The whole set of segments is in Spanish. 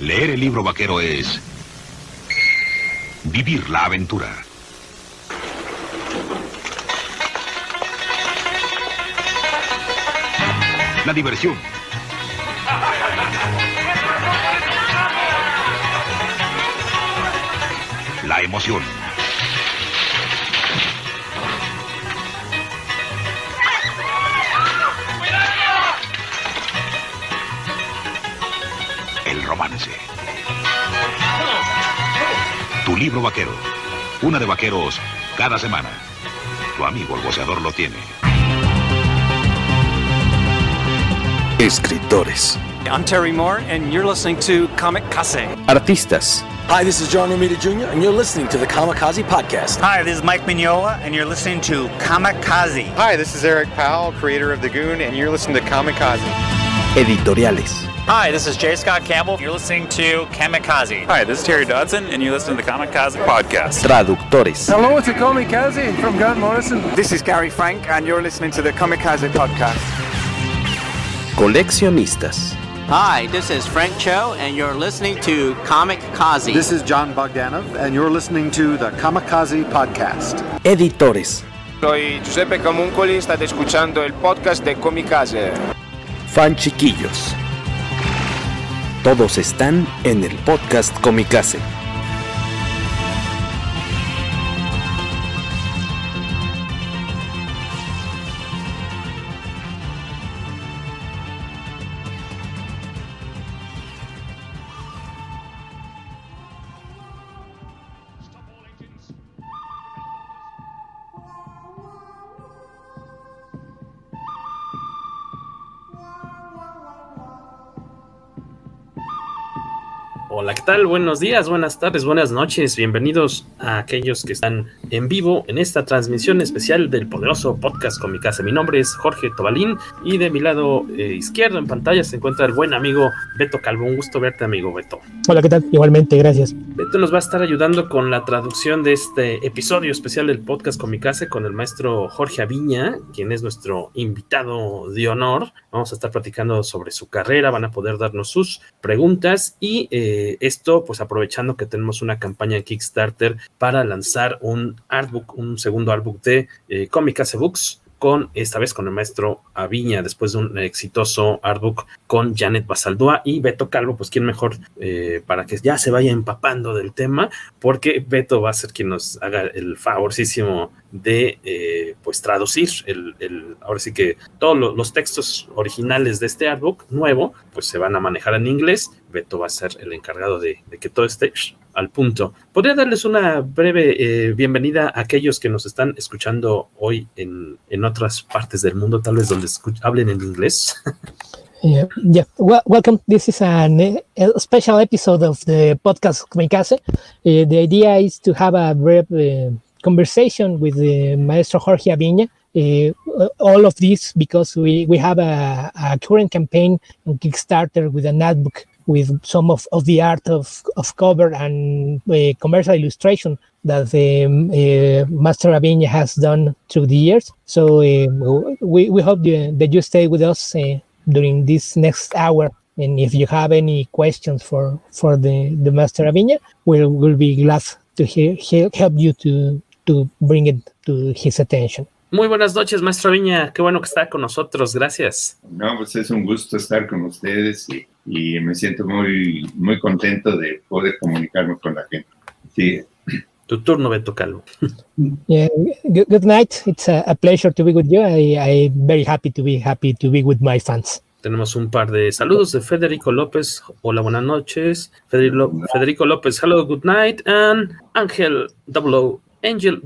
Leer el libro vaquero es vivir la aventura. La diversión. La emoción. El romance. Tu libro vaquero. Una de vaqueros cada semana. Tu amigo el boceador lo tiene. Escritores. I'm Terry Moore, and you're listening to Kamikaze. Artistas. Hi, this is John Romita Jr., and you're listening to the Kamikaze Podcast. Hi, this is Mike Mignola, and you're listening to Kamikaze. Hi, this is Eric Powell, creator of The Goon, and you're listening to Kamikaze. Editoriales. Hi, this is J. Scott Campbell. You're listening to Kamikaze. Hi, this is Terry Dodson, and you're listening to the Kamikaze Podcast. Traductores. Hello, it's Kamikaze from Grant Morrison. This is Gary Frank, and you're listening to the Kamikaze Podcast. Coleccionistas. Hi, this is Frank Cho, and you're listening to Kamikaze. This is John Bogdanov, and you're listening to the Kamikaze Podcast. Editores. Soy Giuseppe Camuncoli, state escuchando el podcast de Kamikaze. Fan chiquillos. Todos están en el podcast Kamikaze. Hola, ¿qué tal? Buenos días, buenas tardes, buenas noches. Bienvenidos a aquellos que están en vivo en esta transmisión especial del poderoso podcast Kamikaze. Mi nombre es Jorge Tobalín y de mi lado izquierdo en pantalla se encuentra el buen amigo Beto Calvo. Un gusto verte, amigo Beto. Hola, ¿qué tal? Igualmente, gracias. Beto nos va a estar ayudando con la traducción de este episodio especial del podcast Kamikaze con el maestro Jorge Aviña, quien es nuestro invitado de honor. Vamos a estar platicando sobre su carrera, van a poder darnos sus preguntas y esto pues aprovechando que tenemos una campaña en Kickstarter para lanzar un artbook, un segundo artbook de Kamikaze Books, esta vez con el maestro Aviña, después de un exitoso artbook con Janet Basaldúa y Beto Calvo, pues quién mejor para que ya se vaya empapando del tema, porque Beto va a ser quien nos haga el favorcísimo de pues traducir ahora sí que todos los textos originales de este artbook nuevo, pues se van a manejar en inglés. Beto va a ser el encargado de que todo esté al punto. ¿Podría darles una breve bienvenida a aquellos que nos están escuchando hoy en otras partes del mundo, tal vez donde hablen en inglés? Welcome. This is a special episode of the podcast Kamikaze. The idea is to have a brief conversation with the Maestro Jorge Aviña. All of this because we have a current campaign on Kickstarter with an ad book with some of the art of cover and commercial illustration that Master Aviña has done through the years. So we hope that you stay with us during this next hour. And if you have any questions for the Master Aviña, we'll be glad to help you to bring it to his attention. Muy buenas noches, Maestro Aviña. Qué bueno que está con nosotros. Gracias. No, pues es un gusto estar con ustedes y me siento muy, muy contento de poder comunicarme con la gente. Sí. Tu turno, Beto Calvo. Yeah, good night. It's a pleasure to be with you. I'm very happy to be with my fans. Tenemos un par de saludos de Federico López. Hola, buenas noches. Federico López, hello, good night. And Ángel Ángel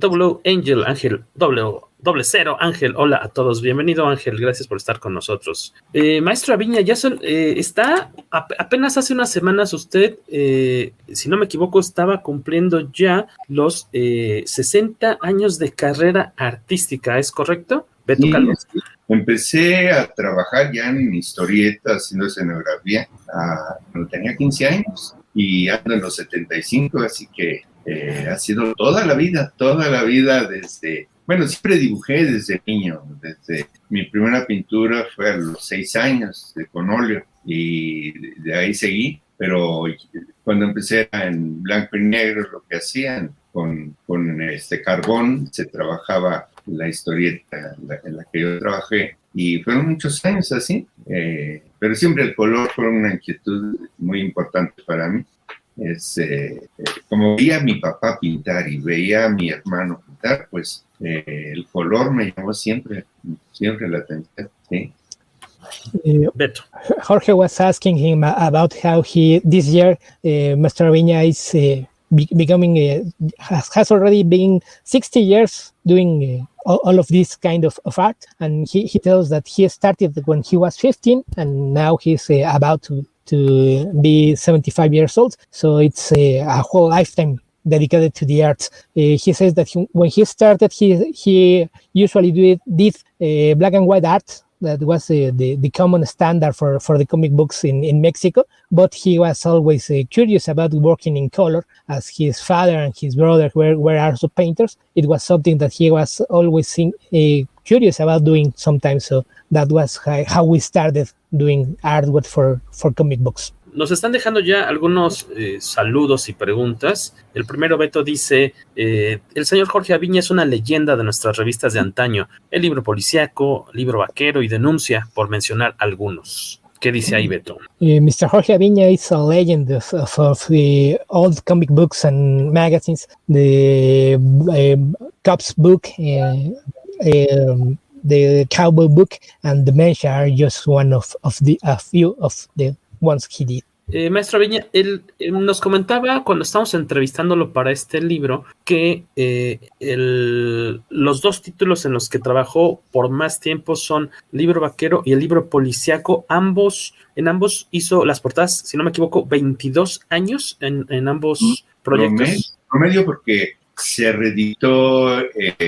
00 Ángel, hola a todos, bienvenido Ángel, gracias por estar con nosotros. Maestro Aviña, ya está, apenas hace unas semanas usted, si no me equivoco, estaba cumpliendo ya los 60 años de carrera artística, ¿es correcto? Beto Calvo. Sí. Empecé a trabajar ya en historieta, haciendo escenografía, cuando tenía 15 años y ando en los 75, así que ha sido toda la vida desde... Bueno, siempre dibujé desde niño, desde mi primera pintura fue a los 6 años con óleo y de ahí seguí pero cuando empecé en blanco y negro, lo que hacían con carbón, se trabajaba la historieta en la que yo trabajé, y fueron muchos años así, pero siempre el color fue una inquietud muy importante para mí. Como veía a mi papá pintar y veía a mi hermano pintar, pues el color me llamó siempre la atención, ¿sí? Jorge was asking him about how this year Maestro Aviña is becoming has already been 60 years doing all of this kind of art, and he tells that he started when he was 15 and now he's about to be 75 years old, so it's a whole lifetime dedicated to the arts. He says that when he started, he usually did black and white art. That was the common standard for the comic books in Mexico, but he was always curious about working in color, as his father and his brother were also painters. It was something that he was always curious about doing sometimes, so that was how we started doing artwork for comic books. Nos están dejando ya algunos saludos y preguntas. El primero, Beto, dice, el señor Jorge Aviña es una leyenda de nuestras revistas de antaño, el libro policíaco, libro vaquero y denuncia, por mencionar algunos. ¿Qué dice ahí, Beto? Mr. Jorge Aviña is a legend of the old comic books and magazines. The Cops book, the Cowboy book, and Dementia are just one of a few of the ones he did. Maestro Aviña, él nos comentaba cuando estábamos entrevistándolo para este libro que los dos títulos en los que trabajó por más tiempo son Libro Vaquero y el libro policíaco. En ambos hizo las portadas, si no me equivoco, 22 años en ambos proyectos. Promedio porque se reeditó...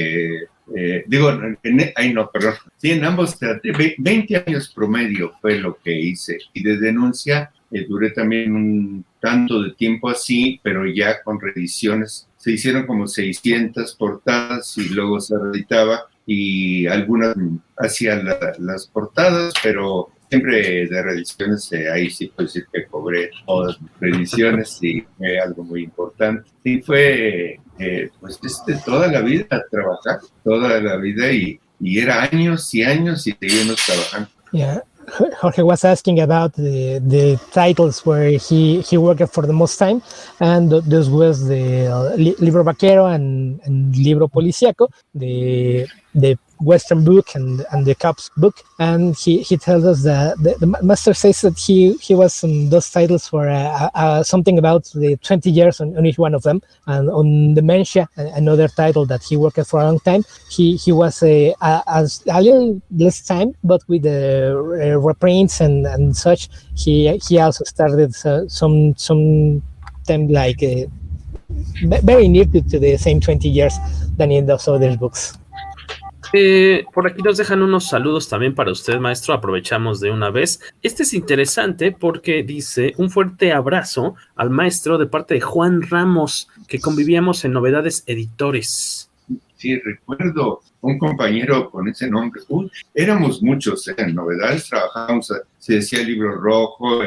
Sí, en ambos 20 años promedio fue lo que hice, y de denuncia duré también un tanto de tiempo así, pero ya con reediciones. Se hicieron como 600 portadas y luego se reeditaba, y algunas hacían las portadas, pero siempre de reediciones, ahí sí puedo decir que cobré todas las reediciones, y fue algo muy importante. Sí, fue pues toda la vida trabajar, toda la vida, y era años y años y seguimos trabajando. Yeah. Jorge was asking about the titles where he worked for the most time, and this was the Libro Vaquero and Libro Policíaco, the Western book and the Cops book. And he tells us that the master says that he was on those titles for something about the 20 years on each one of them. And on Dementia, another title that he worked for a long time, he was a little less time, but with the reprints and such, he also started some time like very near to the same 20 years than in those other books. Por aquí nos dejan unos saludos también para usted, maestro. Aprovechamos de una vez. Este es interesante porque dice: un fuerte abrazo al maestro de parte de Juan Ramos, que convivíamos en Novedades Editores. Sí, recuerdo un compañero con ese nombre. Éramos muchos en Novedades, trabajábamos, se decía Libro Rojo,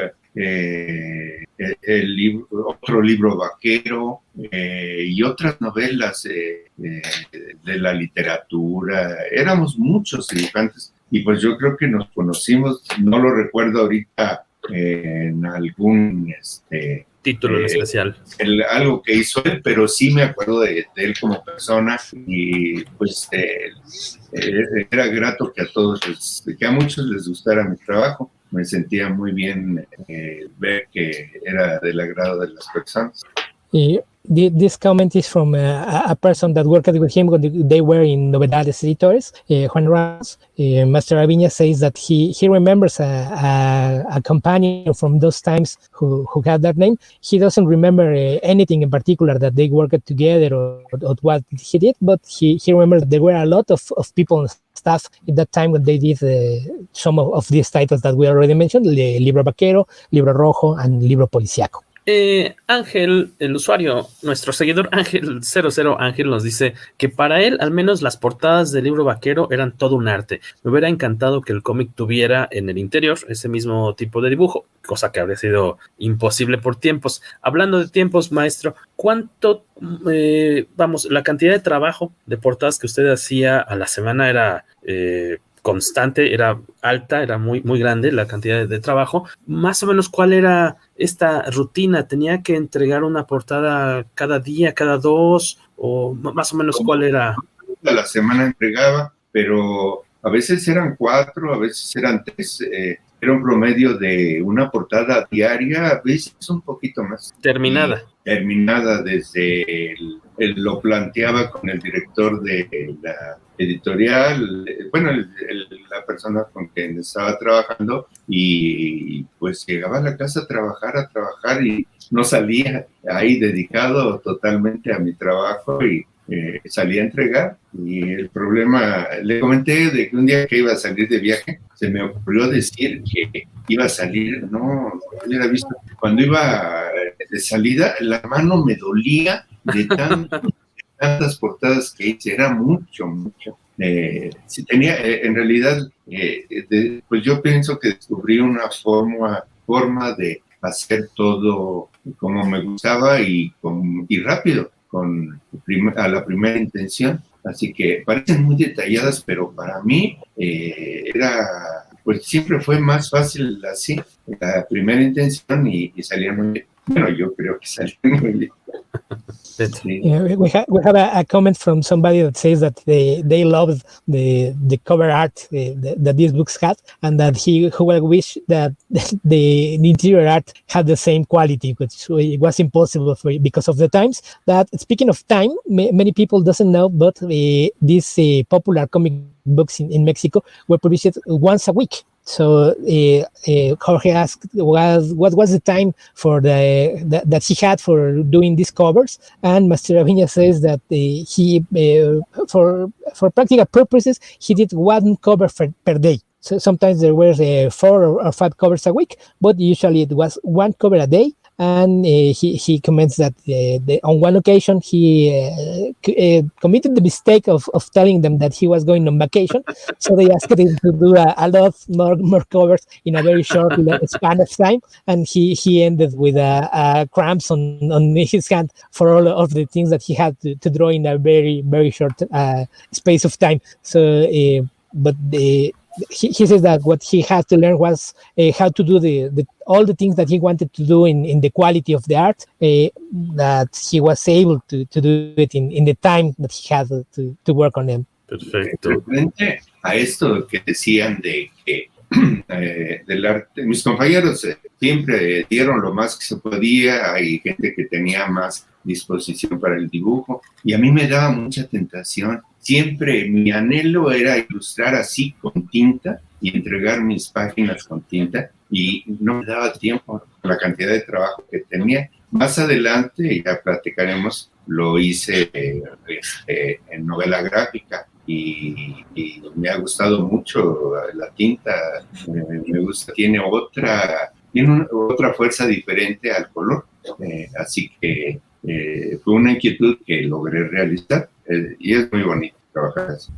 otro libro vaquero, y otras novelas de la literatura. Éramos muchos dibujantes, y pues yo creo que nos conocimos, no lo recuerdo ahorita, en algún título en especial, algo que hizo él, pero sí me acuerdo de él como persona, y pues era grato que a muchos les gustara mi trabajo. Me sentía muy bien ver que era del agrado de las personas. This comment is from a person that worked with him when they were in Novedades Editores, Juan Ramos. Master Aviña says that he remembers a companion from those times who had that name. He doesn't remember anything in particular that they worked together or what he did, but he remembers there were a lot of people and staff at that time when they did some of these titles that we already mentioned, Libro Vaquero, Libro Rojo, and Libro Policíaco. Ángel, el usuario, nuestro seguidor Ángel 00 Ángel nos dice que para él al menos las portadas del libro vaquero eran todo un arte. Me hubiera encantado que el cómic tuviera en el interior ese mismo tipo de dibujo, cosa que habría sido imposible por tiempos. Hablando de tiempos, maestro, ¿cuánto, la cantidad de trabajo de portadas que usted hacía a la semana era constante, era alta, era muy, muy grande la cantidad de trabajo? Más o menos, ¿cuál era esta rutina? ¿Tenía que entregar una portada cada día, cada dos? ¿O más o menos cuál era? A la semana entregaba, pero a veces eran 4, a veces eran 3. Era un promedio de una portada diaria, a veces un poquito más. Terminada. Terminada desde lo planteaba con el director de la editorial, bueno, la persona con quien estaba trabajando, y pues llegaba a la casa a trabajar y no salía ahí dedicado totalmente a mi trabajo y salí a entregar. Y el problema, le comenté de que un día que iba a salir de viaje, se me ocurrió decir que iba a salir, no hubiera visto, cuando iba de salida, la mano me dolía de tantas portadas que hice, era mucho. Si tenía, en realidad, pues yo pienso que descubrí una forma de hacer todo como me gustaba y rápido, a la primera intención. Así que parecen muy detalladas, pero para mí pues siempre fue más fácil así, la primera intención y salía muy bien. Bueno, yo creo que salió muy bien. We have a comment from somebody that says that they loved the cover art that these books had, and that who will wish that the interior art had the same quality, which was impossible because of the times. That, speaking of time, many people doesn't know, but these popular comic books in Mexico were published once a week. So Jorge asked what was the time for that he had for doing these covers, and Master Aviña says that he for practical purposes he did one cover per day. So sometimes there were 4 or 5 covers a week, but usually it was one cover a day. And he comments that on one occasion he committed the mistake of telling them that he was going on vacation, so they asked him to do a lot more covers in a very short span of time, and he ended with cramps on his hand for all of the things that he had to draw in a very, very short space of time. So, but he says that what he had to learn was how to do all the things that he wanted to do in the quality of the art, that he was able to do it in the time that he had to work on them. Perfecto. Frente a esto que decían de que del arte, mis compañeros siempre dieron lo más que se podía, hay gente que tenía más disposición para el dibujo, y a mí me daba mucha tentación. Siempre mi anhelo era ilustrar así con tinta y entregar mis páginas con tinta, y no me daba tiempo por la cantidad de trabajo que tenía. Más adelante, ya platicaremos, lo hice en novela gráfica y me ha gustado mucho la tinta. Me gusta, tiene otra fuerza diferente al color, así que fue una inquietud que logré realizar, y es muy bonito trabajar así.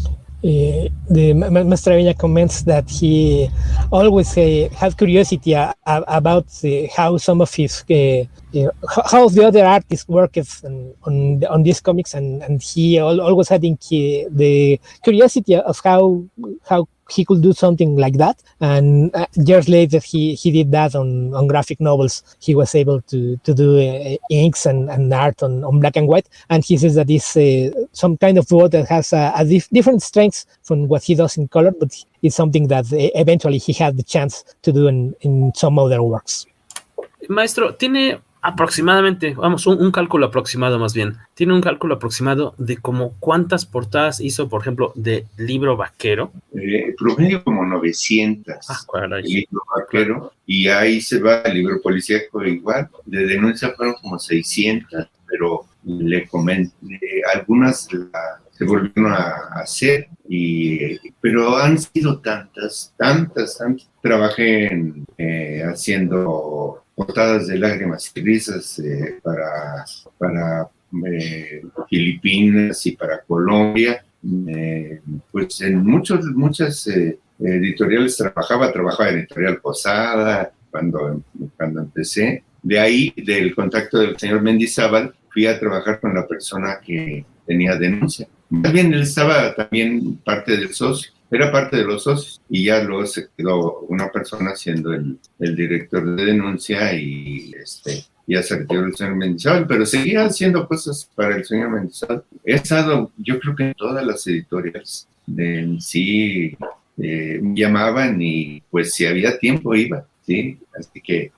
The Master Aviña comments that he always had curiosity about how some of his how the other artists worked on these comics, and he always had the curiosity of how he could do something like that. And years later, he did that on graphic novels. He was able to do inks and art on black and white. And he says that it's some kind of work that has a different strengths from what he does in color, but it's something that eventually he had the chance to do in some other works. Maestro, tiene aproximadamente, vamos, un cálculo aproximado más bien, tiene un cálculo aproximado de como cuántas portadas hizo, por ejemplo, de libro vaquero. Promedio como 900. Caray. Libro vaquero, y ahí se va el libro policíaco igual. De denuncia fueron como 600, pero le comenté, algunas se volvieron a hacer, pero han sido tantas. Trabajé haciendo portadas de Lágrimas y Risas para Filipinas y para Colombia. Pues en muchas editoriales trabajaba en Editorial Posada cuando empecé. De ahí, del contacto del señor Mendizábal, fui a trabajar con la persona que tenía Denuncia. Más bien, él estaba también parte del socio, era parte de los socios, y ya luego se quedó una persona siendo el director de Denuncia, y ya se retiró el señor Mendizábal, pero seguía haciendo cosas para el señor Mendizábal. He estado, yo creo que en todas las editoriales sí, me llamaban, y pues si había tiempo iba, ¿sí? Así que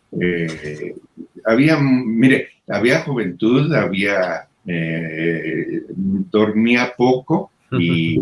había juventud, dormía poco, y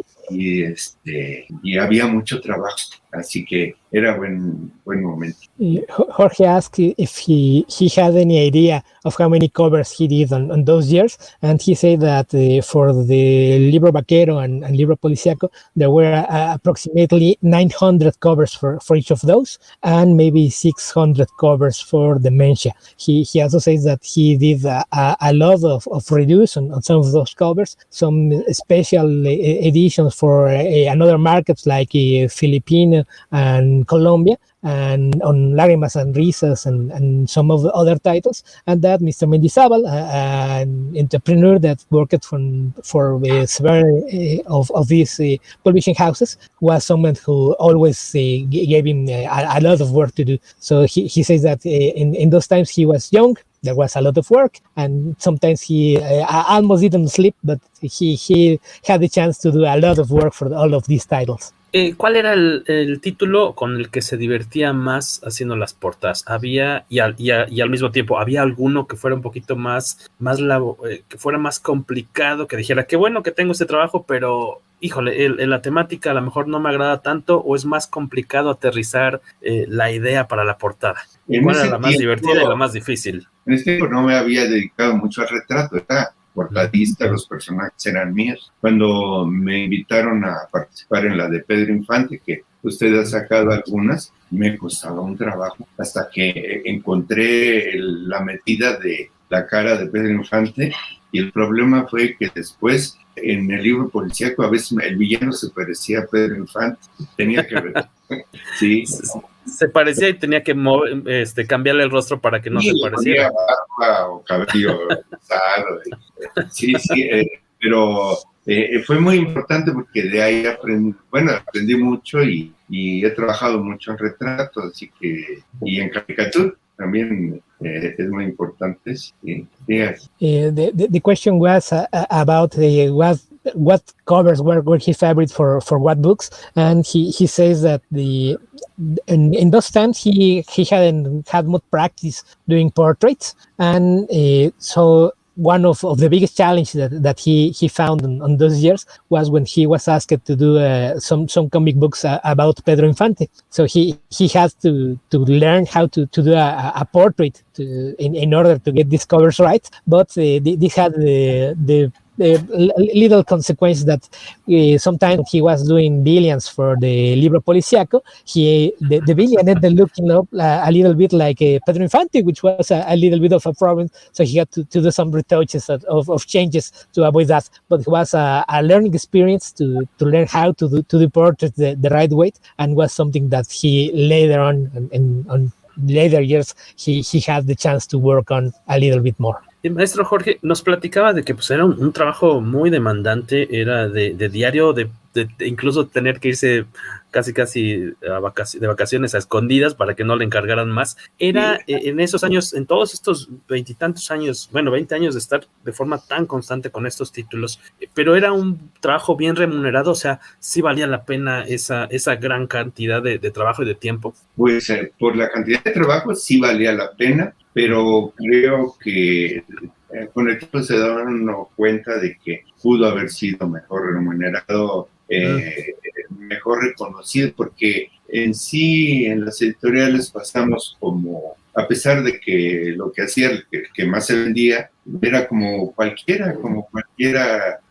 había mucho trabajo, así que era buen momento. Jorge asked if he had any idea of how many covers he did on those years, and he said that for the Libro Vaquero and Libro Policiaco, there were approximately 900 covers for each of those, and maybe 600 covers for Dementia. He also says that he did a lot of reviews on some of those covers, some special editions for another markets like Filipino and Colombia, and on Lágrimas and Risas and some of the other titles, and that Mr. Mendizábal, an entrepreneur that worked for several of these publishing houses, was someone who always gave him a lot of work to do. So he says that in those times he was young, there was a lot of work, and sometimes he almost didn't sleep, but he had the chance to do a lot of work for all of these titles. ¿Cuál era el título con el que se divertía más haciendo las portadas? ¿Había, y al mismo tiempo, había alguno que fuera un poquito que fuera más complicado, que dijera, qué bueno que tengo este trabajo, pero, híjole, la temática a lo mejor no me agrada tanto, o es más complicado aterrizar la idea para la portada? ¿Cuál era la más divertida y la más difícil? En ese tiempo no me había dedicado mucho al retrato, era portadista, los personajes eran míos. Cuando me invitaron a participar en la de Pedro Infante, que usted ha sacado algunas, me costaba un trabajo hasta que encontré la metida de la cara de Pedro Infante, y el problema fue que después en el libro policíaco a veces el villano se parecía a Pedro Infante, tenía que ver. Sí. Se parecía y tenía que cambiarle el rostro para que no se pareciera. Barba o cabello rosado. Sí, pero fue muy importante porque de ahí aprendí mucho, y he trabajado mucho en retrato, así que, y en caricatura también es muy importante. Sí. The question was about what covers were his favorite for what books, and he says that in those times he hadn't had much practice doing portraits, and so one of the biggest challenges that he found on those years was when he was asked to do some comic books about Pedro Infante. So he has to learn how to do a portrait in order to get these covers right, but this had the little consequence that sometimes he was doing villains for the Libro Policiaco. The villain ended looking up a little bit like Pedro Infante, which was a little bit of a problem. So he had to do some retouches of changes to avoid that. But it was a learning experience to learn how to do portraits the right way, and was something that he later on later years he had the chance to work on a little bit more. El maestro Jorge nos platicaba de que pues era un trabajo muy demandante, era de diario, de incluso tener que irse casi de vacaciones a escondidas para que no le encargaran más. Era en esos años, en todos estos 20 años de estar de forma tan constante con estos títulos, pero era un trabajo bien remunerado, o sea, sí valía la pena esa gran cantidad de trabajo y de tiempo. Pues por la cantidad de trabajo sí valía la pena, pero creo que con el tiempo se daban cuenta de que pudo haber sido mejor remunerado, mejor reconocido, porque en sí en las editoriales pasamos como, a pesar de que lo que hacía el que más se vendía era como cualquiera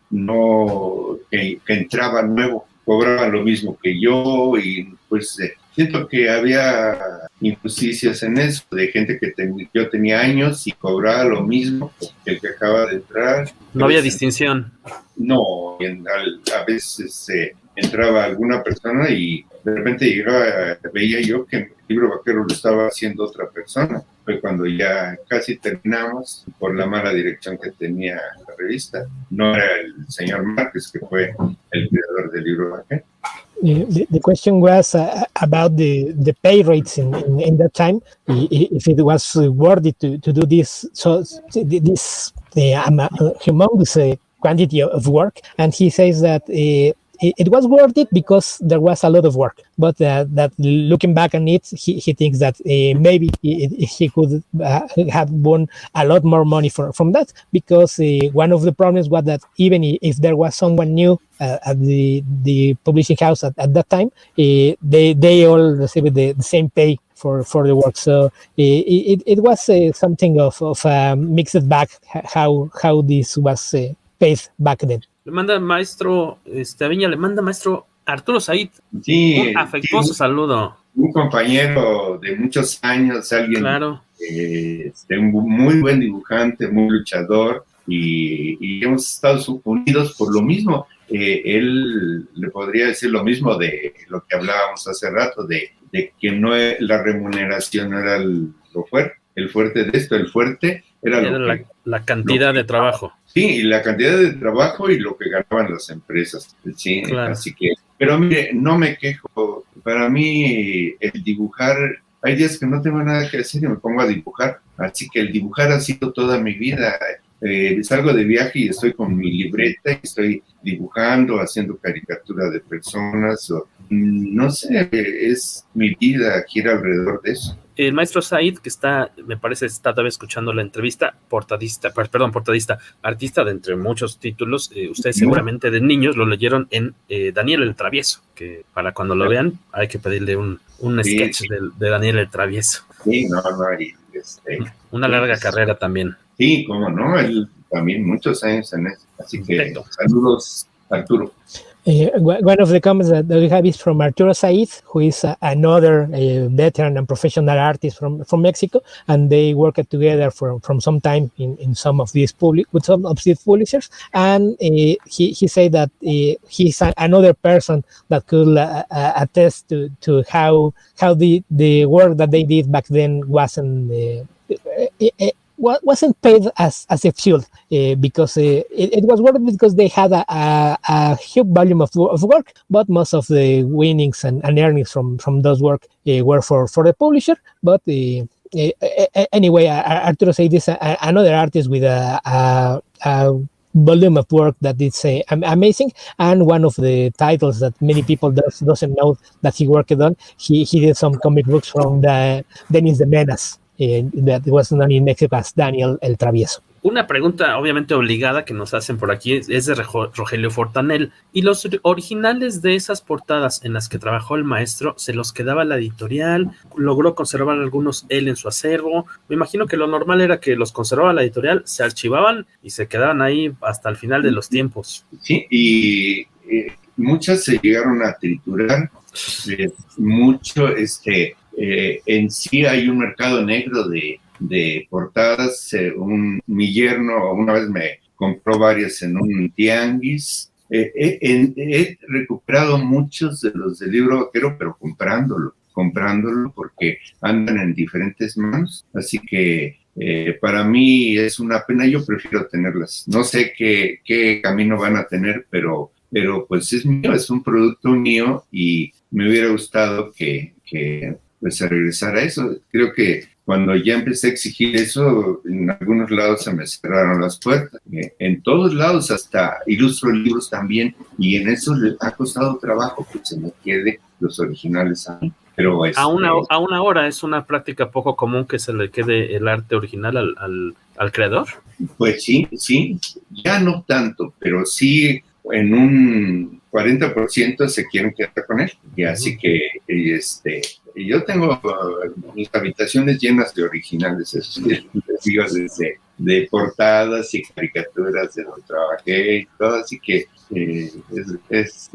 no que entraba nuevo, cobraba lo mismo que yo, y pues siento que había injusticias en eso, de gente que yo tenía años y cobraba lo mismo que el que acaba de entrar. No había distinción. No, a veces entraba alguna persona y de repente veía yo que el libro vaquero lo estaba haciendo otra persona. Fue cuando ya casi terminamos por la mala dirección que tenía la revista. No era el señor Márquez, que fue el creador del libro vaquero. The question was about the pay rates in that time, if it was worthy to do this, so this humongous quantity of work, and he says that it was worth it because there was a lot of work, but that looking back on it, he thinks that maybe he could have won a lot more money from that, because one of the problems was that even if there was someone new at the publishing house at that time, they all received the same pay for the work. So it was something of a mixed bag how this was paid back then. Le manda maestro Aviña, le manda maestro Arturo Said. Sí, un afectuoso saludo. Un compañero de muchos años, alguien claro. Un muy buen dibujante, muy luchador, y hemos estado unidos por lo mismo. Él le podría decir lo mismo de lo que hablábamos hace rato, de que no la remuneración era el fuerte de esto, el fuerte era la cantidad de trabajo. Sí, la cantidad de trabajo y lo que ganaban las empresas. Sí, claro. Así que, pero mire, no me quejo. Para mí, el dibujar, hay días que no tengo nada que hacer y me pongo a dibujar. Así que el dibujar ha sido toda mi vida. Salgo de viaje y estoy con mi libreta y estoy dibujando, haciendo caricatura de personas. No sé, es mi vida, gira alrededor de eso. El maestro Said, que me parece está todavía escuchando la entrevista, portadista, artista de entre muchos títulos. Ustedes seguramente de niños lo leyeron en Daniel el Travieso, que para cuando lo vean hay que pedirle un sketch de Daniel el Travieso. Sí, no, una larga carrera también. Sí, cómo no, él también muchos años en eso. Así que perfecto. Saludos, Arturo. One of the comments that we have is from Arturo Said, who is another veteran and professional artist from Mexico, and they worked together from some time in some of these publishers. And he said that he's another person that could attest to how the work that they did back then wasn't paid as it should, because it was worth it because they had a huge volume of work, but most of the winnings and earnings from those work were for the publisher. But anyway, Arturo Said is another artist with a volume of work that is amazing, and one of the titles that many people doesn't know that he worked on, he did some comic books from Dennis the Menace. That was known in Mexico as Daniel el Travieso. Una pregunta obviamente obligada que nos hacen por aquí es de Rogelio Fortanel. ¿Y los originales de esas portadas en las que trabajó el maestro se los quedaba la editorial? ¿Logró conservar algunos él en su acervo? Me imagino que lo normal era que los conservaba la editorial, se archivaban y se quedaban ahí hasta el final de los tiempos. Sí, y muchas se llegaron a triturar. Mucho, en sí hay un mercado negro de portadas. Mi yerno una vez me compró varias en un tianguis. He recuperado muchos de los del libro vaquero, pero comprándolo porque andan en diferentes manos. Así que para mí es una pena. Yo prefiero tenerlas. No sé qué camino van a tener, pero pues es mío, es un producto mío y me hubiera gustado que pues se regresara a eso. Creo que cuando ya empecé a exigir eso, en algunos lados se me cerraron las puertas. En todos lados, hasta ilustro libros también, y en eso le ha costado trabajo que se me quede los originales a mí. Pero aún ahora es una práctica poco común que se le quede el arte original al creador. Pues sí, ya no tanto, pero sí en un 40% se quieren quedar con él. Y así que yo tengo mis habitaciones llenas de originales, esos de portadas y caricaturas de donde trabajé y todo, así que es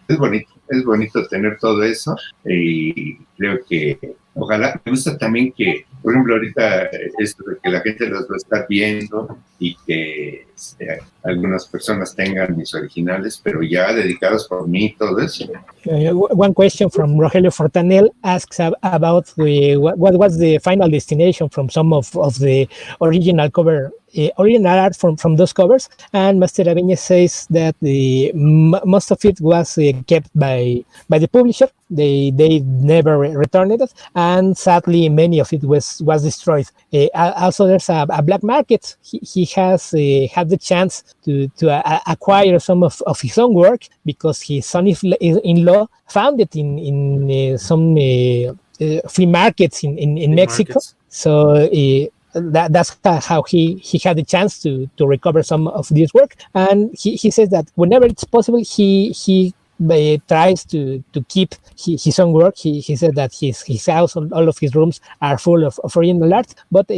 bonito tener todo eso, y creo que ojalá, me gusta también que, por ejemplo, ahorita esto de que la gente los va a estar viendo y que algunas personas tengan mis originales, pero ya dedicados por mí, todo eso. One question from Rogelio Fortanel asks about what was the final destination from some of the original cover, original art from those covers, and Master Aviña says that most of it was kept by the publisher. They never returned it, and sadly many of it was destroyed. Also, there's a black market. He has had the chance to acquire some of his own work because his son-in-law found it in some flea markets in Mexico. Markets. So that's how he had the chance to recover some of this work. And he says that whenever it's possible, he tries to keep his own work. He said that his house, all of his rooms are full of original art, but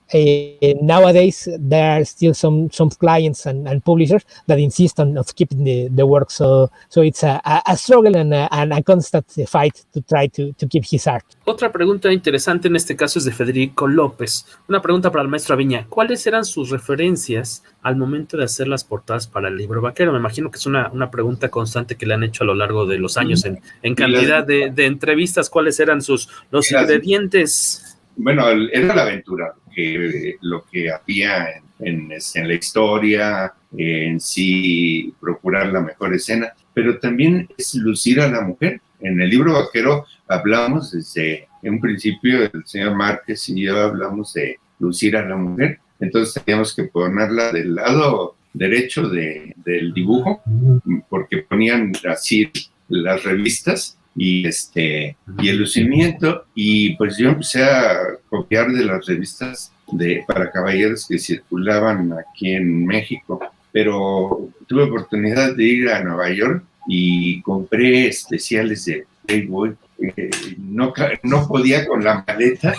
nowadays there are still some clients and publishers that insist on keeping the work. So it's a struggle and a constant fight to try to keep his art. Otra pregunta interesante en este caso es de Federico López. Una pregunta para el maestro Aviña. ¿Cuáles eran sus referencias al momento de hacer las portadas para el libro vaquero? Me imagino que es una pregunta constante que le han hecho a lo largo de los años en cantidad de entrevistas. ¿Cuáles eran los ingredientes? Bueno, era la aventura, lo que había en la historia, en sí procurar la mejor escena, pero también es lucir a la mujer. En el libro vaquero hablamos desde un principio, el señor Márquez y yo hablamos de lucir a la mujer, entonces teníamos que ponerla del lado derecho del dibujo, porque ponían así las revistas y el lucimiento, y pues yo empecé a copiar de las revistas para caballeros que circulaban aquí en México, pero tuve oportunidad de ir a Nueva York y compré especiales de Playboy. No podía con la maleta,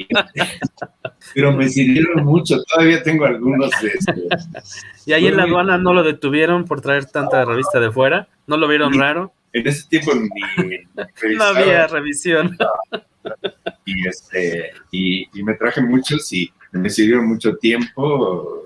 pero me sirvieron mucho. Todavía tengo algunos de estos. ¿Y ahí en la aduana no lo detuvieron por traer tanta revista de fuera? ¿No lo vieron raro? En ese tiempo ni no había revisión. Y me traje muchos y me sirvieron mucho tiempo.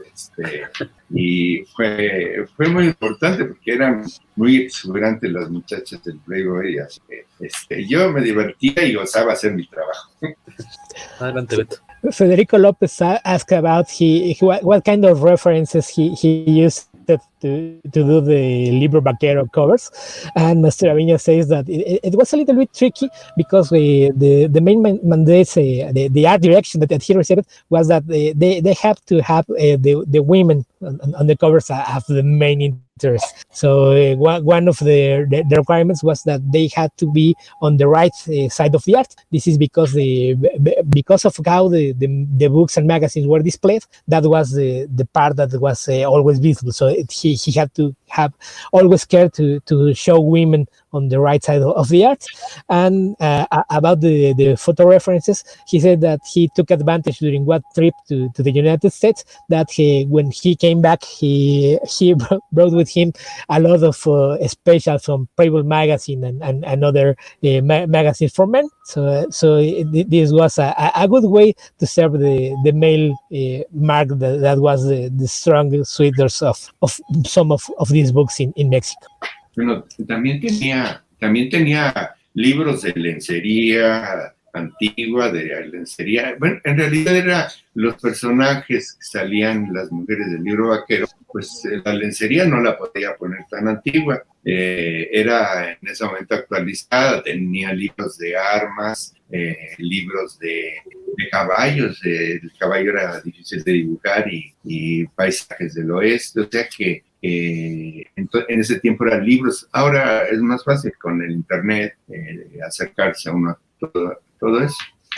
Y fue muy importante porque eran muy exuberantes las muchachas del Playboy, así que yo me divertía y gozaba hacer mi trabajo. Adelante, Beto. Federico Lopez asked about what kind of references he used to do the Libro Vaquero covers, and Master Aviña says that it was a little bit tricky because the main mandate, the art direction that he received was that they have to have the women on the covers of the main interest. So one of the requirements was that they had to be on the right side of the art. This is because of how the books and magazines were displayed. That was the part that was always visible. So he had to have always care to show women on the right side of the art. And about the photo references, he said that he took advantage during one trip to the United States, that when he came back, he brought with him a lot of specials from Playboy magazine and other magazines for men. So this was a good way to serve the male market that was the strong suitors of some of these books in Mexico. Bueno, también tenía libros de lencería antigua, de lencería. Bueno, en realidad eran los personajes que salían las mujeres del Libro Vaquero, pues la lencería no la podía poner tan antigua. Era en ese momento actualizada, tenía libros de armas, libros de caballos, el caballo era difícil de dibujar, y paisajes del oeste, o sea que en ese tiempo eran libros. Ahora es más fácil con el internet acercarse a uno todo eso.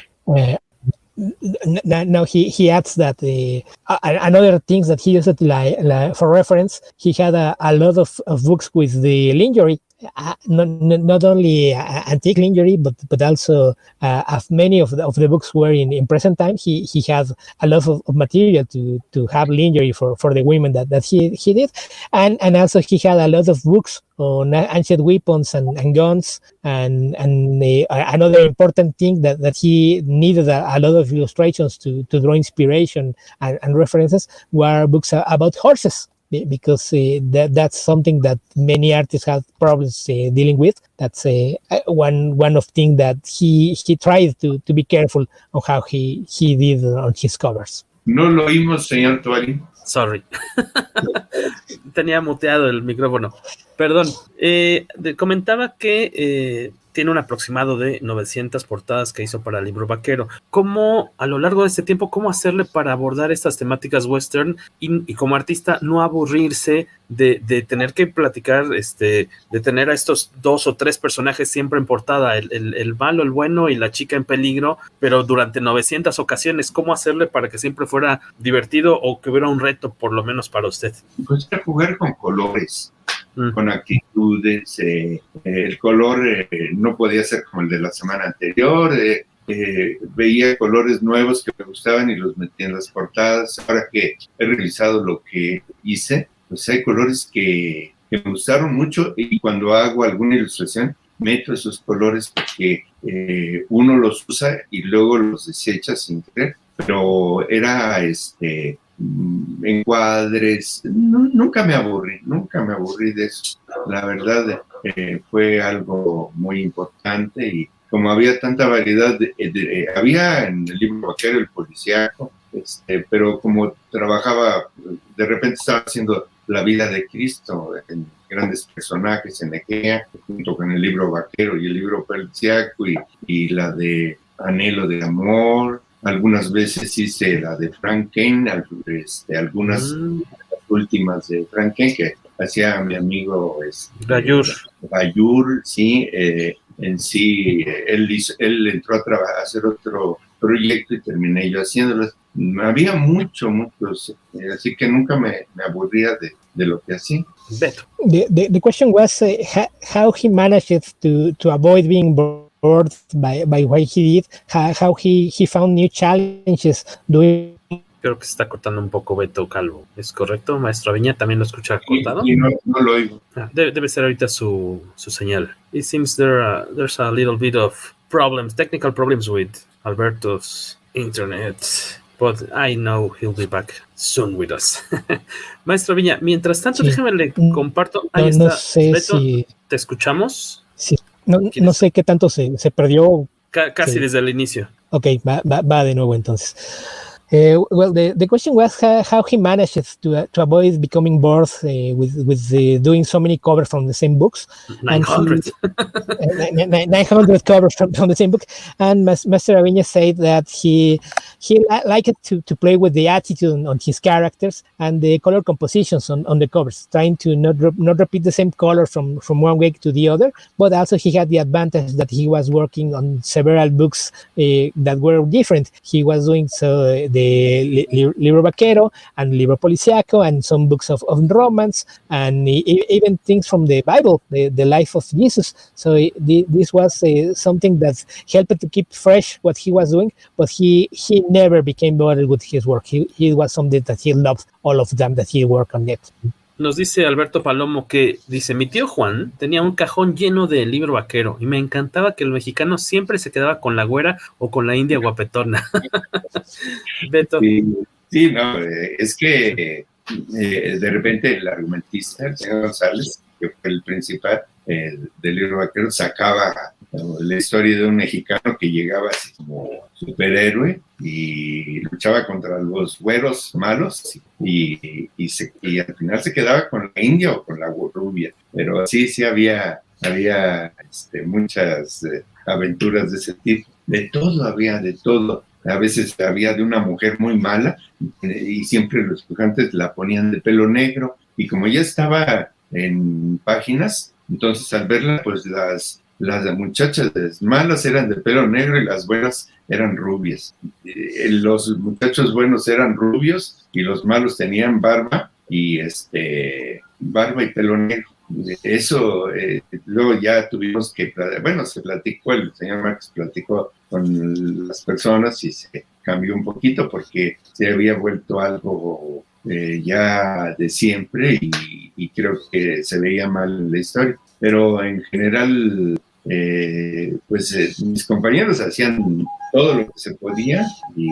Now he adds that another things that he used like for reference, he had a lot of books with the lingerie not only antique lingerie, but also of many of the books were in present time. He had a lot of material to have lingerie for the women that he did, and also he had a lot of books on ancient weapons and guns, and another important thing that he needed a lot of illustrations to draw inspiration and references were books about horses, because that's something that many artists have problems dealing with. That's one of things that he tried to be careful on how he did on his covers. No lo oímos, señor Tuari. Sorry. Tenía muteado el micrófono. Perdón. Comentaba que tiene un aproximado de 900 portadas que hizo para el libro vaquero. ¿Cómo, a lo largo de este tiempo, cómo hacerle para abordar estas temáticas western y como artista no aburrirse de tener que platicar, de tener a estos 2 o 3 personajes siempre en portada, el malo, el bueno y la chica en peligro, pero durante 900 ocasiones? ¿Cómo hacerle para que siempre fuera divertido o que hubiera un reto, por lo menos para usted? Pues jugar con colores, con actitudes. El color no podía ser como el de la semana anterior. Veía colores nuevos que me gustaban y los metí en las portadas. Ahora que he revisado lo que hice, pues hay colores que me gustaron mucho, y cuando hago alguna ilustración meto esos colores porque uno los usa y luego los desecha sin querer. Pero era encuadres, nunca me aburrí de eso. La verdad, fue algo muy importante, y como había tanta variedad, había en el libro vaquero el policíaco, pero como trabajaba, de repente estaba haciendo la vida de Cristo en grandes personajes en Egea, junto con el libro vaquero y el libro policíaco, y la de Anhelo de Amor. Algunas veces hice la de Frank Kane, algunas últimas de Frank Kane que hacía mi amigo Bayur, sí. En sí, él entró a hacer otro proyecto y terminé yo haciéndolo. Había muchos, así que nunca me aburría de lo que hacía. The question was how he managed to avoid being bored by what he did, how he found new challenges doing. Creo que se está cortando un poco Beto Calvo. ¿Es correcto, maestro Aviña? ¿También lo escucha cortado? Y no lo oigo. Debe ser ahorita su señal. It seems there's a little bit of technical problems with Alberto's internet, but I know he'll be back soon with us. Maestro Aviña, mientras tanto, déjame le comparto. Ahí está. No sé Beto, si... ¿te escuchamos? Sí. No sé qué tanto se perdió. Casi desde el inicio. Ok, va de nuevo entonces. Well, the question was how he managed to avoid becoming bored with doing so many covers from the same books. 900. 900 covers from the same book. And Master Aviña said that he liked to play with the attitude on his characters and the color compositions on the covers, trying to not repeat the same color from one week to the other. But also he had the advantage that he was working on several books that were different. He was doing the Libro Vaquero and Libro Policiaco and some books of romance and even things from the Bible, the life of Jesus. So this was something that helped to keep fresh what he was doing, but he never became bored with his work. He was something that he loved all of them that he worked on it. Nos dice Alberto Palomo que dice, mi tío Juan tenía un cajón lleno de libro vaquero y me encantaba que el mexicano siempre se quedaba con la güera o con la india guapetona. Beto. Sí, no, es que de repente el argumentista, el señor González, que fue el principal del libro vaquero, sacaba la historia de un mexicano que llegaba así como superhéroe y luchaba contra los güeros malos y al final se quedaba con la india o con la rubia. Pero sí había muchas aventuras de ese tipo. De todo había, de todo. A veces había de una mujer muy mala y siempre los dibujantes la ponían de pelo negro, y como ya estaba en páginas, entonces al verla, pues las muchachas malas eran de pelo negro y las buenas eran rubias. Los muchachos buenos eran rubios y los malos tenían barba y pelo negro. eso, luego ya tuvimos que, bueno, se platicó, el señor Márquez platicó con las personas y se cambió un poquito porque se había vuelto algo ya de siempre y creo que se veía mal en la historia. Pero en general, mis compañeros hacían todo lo que se podía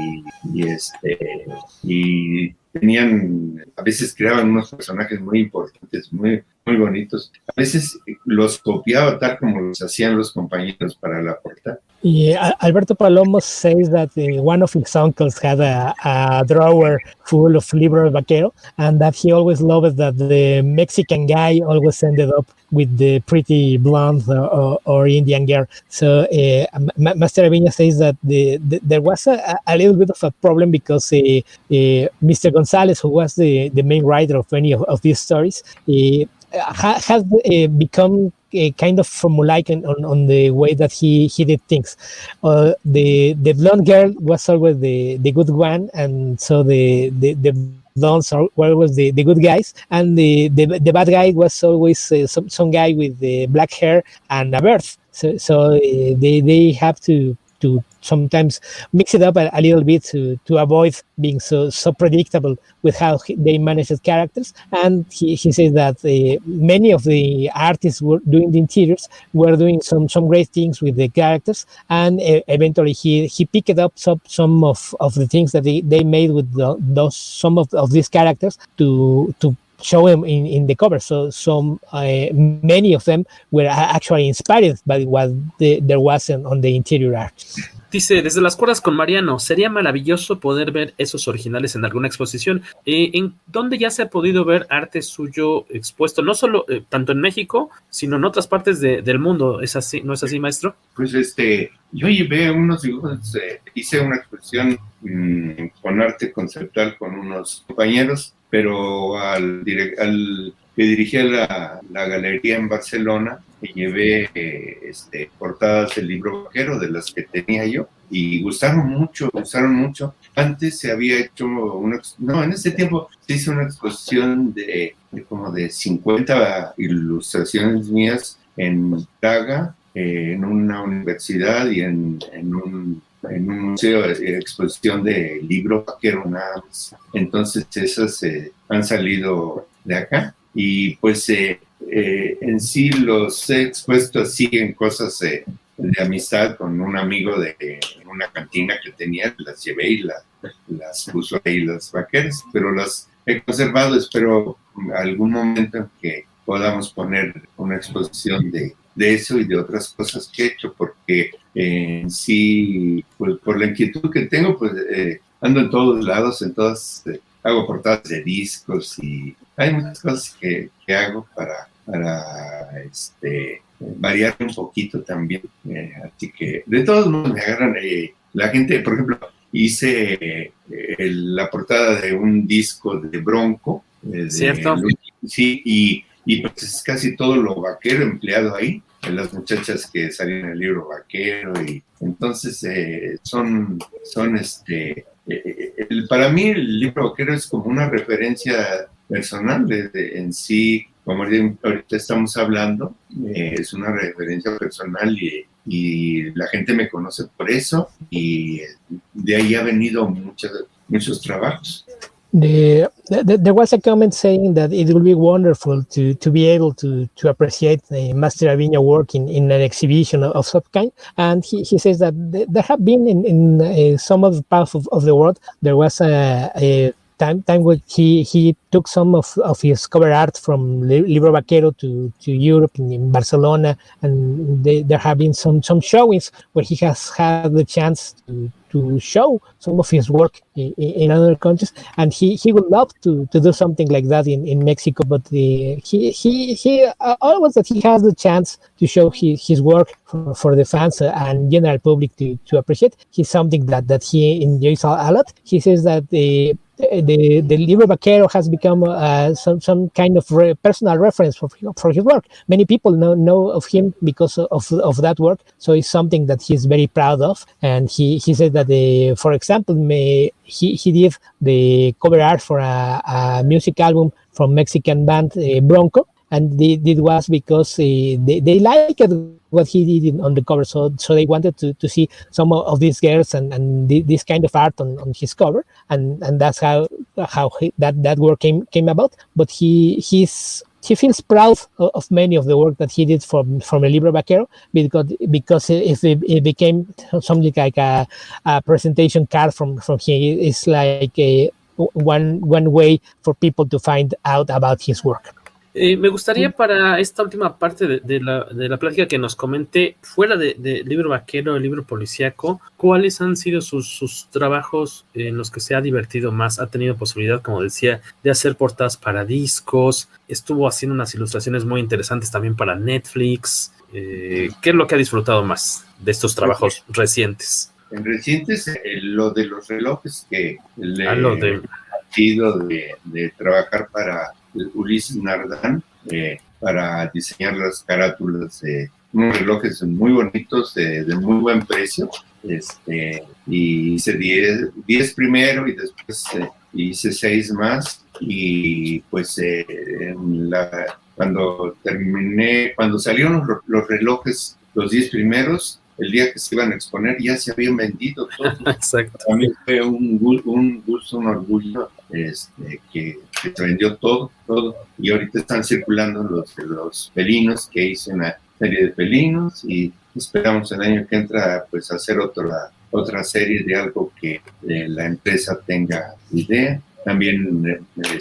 y tenían, a veces creaban unos personajes muy importantes, muy, muy bonitos. A veces los copiaba tal como los hacían los compañeros para la portada. Alberto Palomo says that one of his uncles had a drawer full of libros vaquero, and that he always loved that the Mexican guy always ended up with the pretty blonde or Indian girl. So Master Aviña says that there was a little bit of a problem because Mr. Gonzalez, who was the main writer of many of these stories, has become kind of formulaic on the way that he did things. The blonde girl was always the good one, and so the blondes were always the good guys, and the bad guy was always some guy with the black hair and a beard. So they have to sometimes mix it up a little bit to avoid being so predictable with how they manage the characters. And he says that many of the artists were doing the interiors were doing some great things with the characters, and eventually he picked up some of the things that they made with some of these characters to show them in the cover. So many of them were actually inspired by what there was on the interior art. Dice, desde las cuerdas con Mariano, sería maravilloso poder ver esos originales en alguna exposición. ¿En dónde ya se ha podido ver arte suyo expuesto? No solo, tanto en México, sino en otras partes del mundo. ¿Es así? ¿No es así, maestro? Pues yo llevé unos dibujos, hice una exposición con arte conceptual con unos compañeros, pero al que dirigía la galería en Barcelona, llevé portadas del libro vaquero de las que tenía yo y gustaron mucho. Antes se había hecho en ese tiempo se hizo una exposición de como de 50 ilustraciones mías en Praga, en una universidad y en un museo de exposición de libro vaquero nada más. Entonces esas han salido de acá y pues en sí los he expuesto así en cosas de amistad con un amigo de una cantina que tenía, las llevé y las puso ahí las vaqueras, pero las he conservado. Espero algún momento en que podamos poner una exposición de eso y de otras cosas que he hecho, porque en sí, pues, por la inquietud que tengo, pues ando en todos lados, hago portadas de discos y hay muchas cosas que hago para variar un poquito también. Así que de todos modos me agarran la gente. Por ejemplo, hice la portada de un disco de Bronco. ¿Cierto? Sí, y pues es casi todo lo vaquero empleado ahí, las muchachas que salen en el libro vaquero, y entonces para mí el libro vaquero es como una referencia personal en sí, como ahorita estamos hablando, es una referencia personal y la gente me conoce por eso, y de ahí ha venido muchos trabajos. There was a comment saying that it will be wonderful to be able to appreciate Master Aviña work in an exhibition of some kind, and he says that there have been in some of the parts of the world, there was a time where he took some of his cover art from Libro Vaquero to Europe, in Barcelona, and there have been some showings where he has had the chance to show some of his work in other countries, and he would love to do something like that in Mexico, but he always that he has the chance to show his work for the fans and general public to appreciate. He's something that he enjoys a lot. He says that the Libro Vaquero has become some kind of personal reference for his work. Many people know of him because of that work, so it's something that he's very proud of. And he said that, for example, he did the cover art for a music album from Mexican band Bronco, and it was because they liked what he did on the cover, so they wanted to see some of these girls and this kind of art on his cover, and that's how that work came about. But he feels proud of many of the work that he did from El Libro Vaquero, because it became something like a presentation card from him. It's like one way for people to find out about his work. Me gustaría para esta última parte de la plática que nos comente, fuera de Libro Vaquero, el libro policíaco, ¿cuáles han sido sus trabajos en los que se ha divertido más? Ha tenido posibilidad, como decía, de hacer portadas para discos, estuvo haciendo unas ilustraciones muy interesantes también para Netflix. ¿Qué es lo que ha disfrutado más de estos trabajos recientes? En recientes, lo de los relojes que ha sido de trabajar para Ulises Nardán, para diseñar las carátulas de unos relojes muy bonitos, de muy buen precio, y hice 10 primero y después hice 6 más, y pues cuando salieron los relojes, los 10 primeros, el día que se iban a exponer ya se habían vendido todos. Exacto. A mí fue un gusto, un orgullo que se vendió todo, y ahorita están circulando los felinos, que hice una serie de felinos, y esperamos el año que entra pues hacer otra serie de algo que la empresa tenga idea. También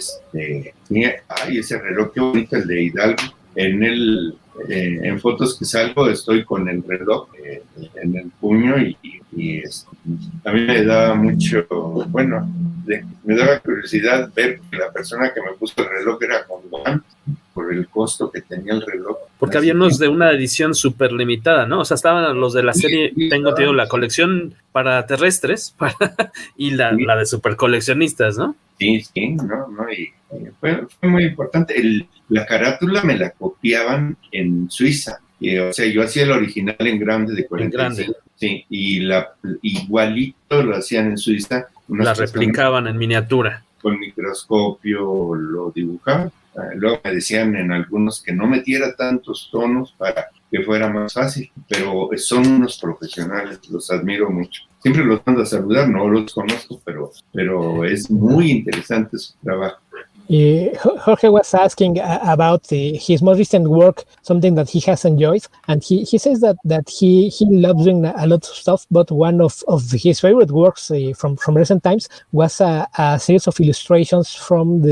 ese reloj, qué bonito, el de Hidalgo. En fotos que salgo estoy con el reloj en el puño, y a mí me da mucho, me daba curiosidad ver que la persona que me puso el reloj era con guantes, por el costo que tenía el reloj. Porque había unos de una edición súper limitada, ¿no? O sea, estaban los de la serie, tengo entendido, la colección para terrestres y la de super coleccionistas, ¿no? Sí, ¿no? Y fue muy importante. La carátula me la copiaban en Suiza. O sea, yo hacía el original en grande de 45. Sí, y igualito lo hacían en Suiza. La replicaban en miniatura. Con microscopio lo dibujaban. Luego me decían en algunos que no metiera tantos tonos para que fuera más fácil, pero son unos profesionales, los admiro mucho. Siempre los mando a saludar, no los conozco, pero es muy interesante su trabajo. Jorge was asking about his most recent work, something that he has enjoyed, and he says that he loves doing a lot of stuff, but one of his favorite works from recent times was a series of illustrations from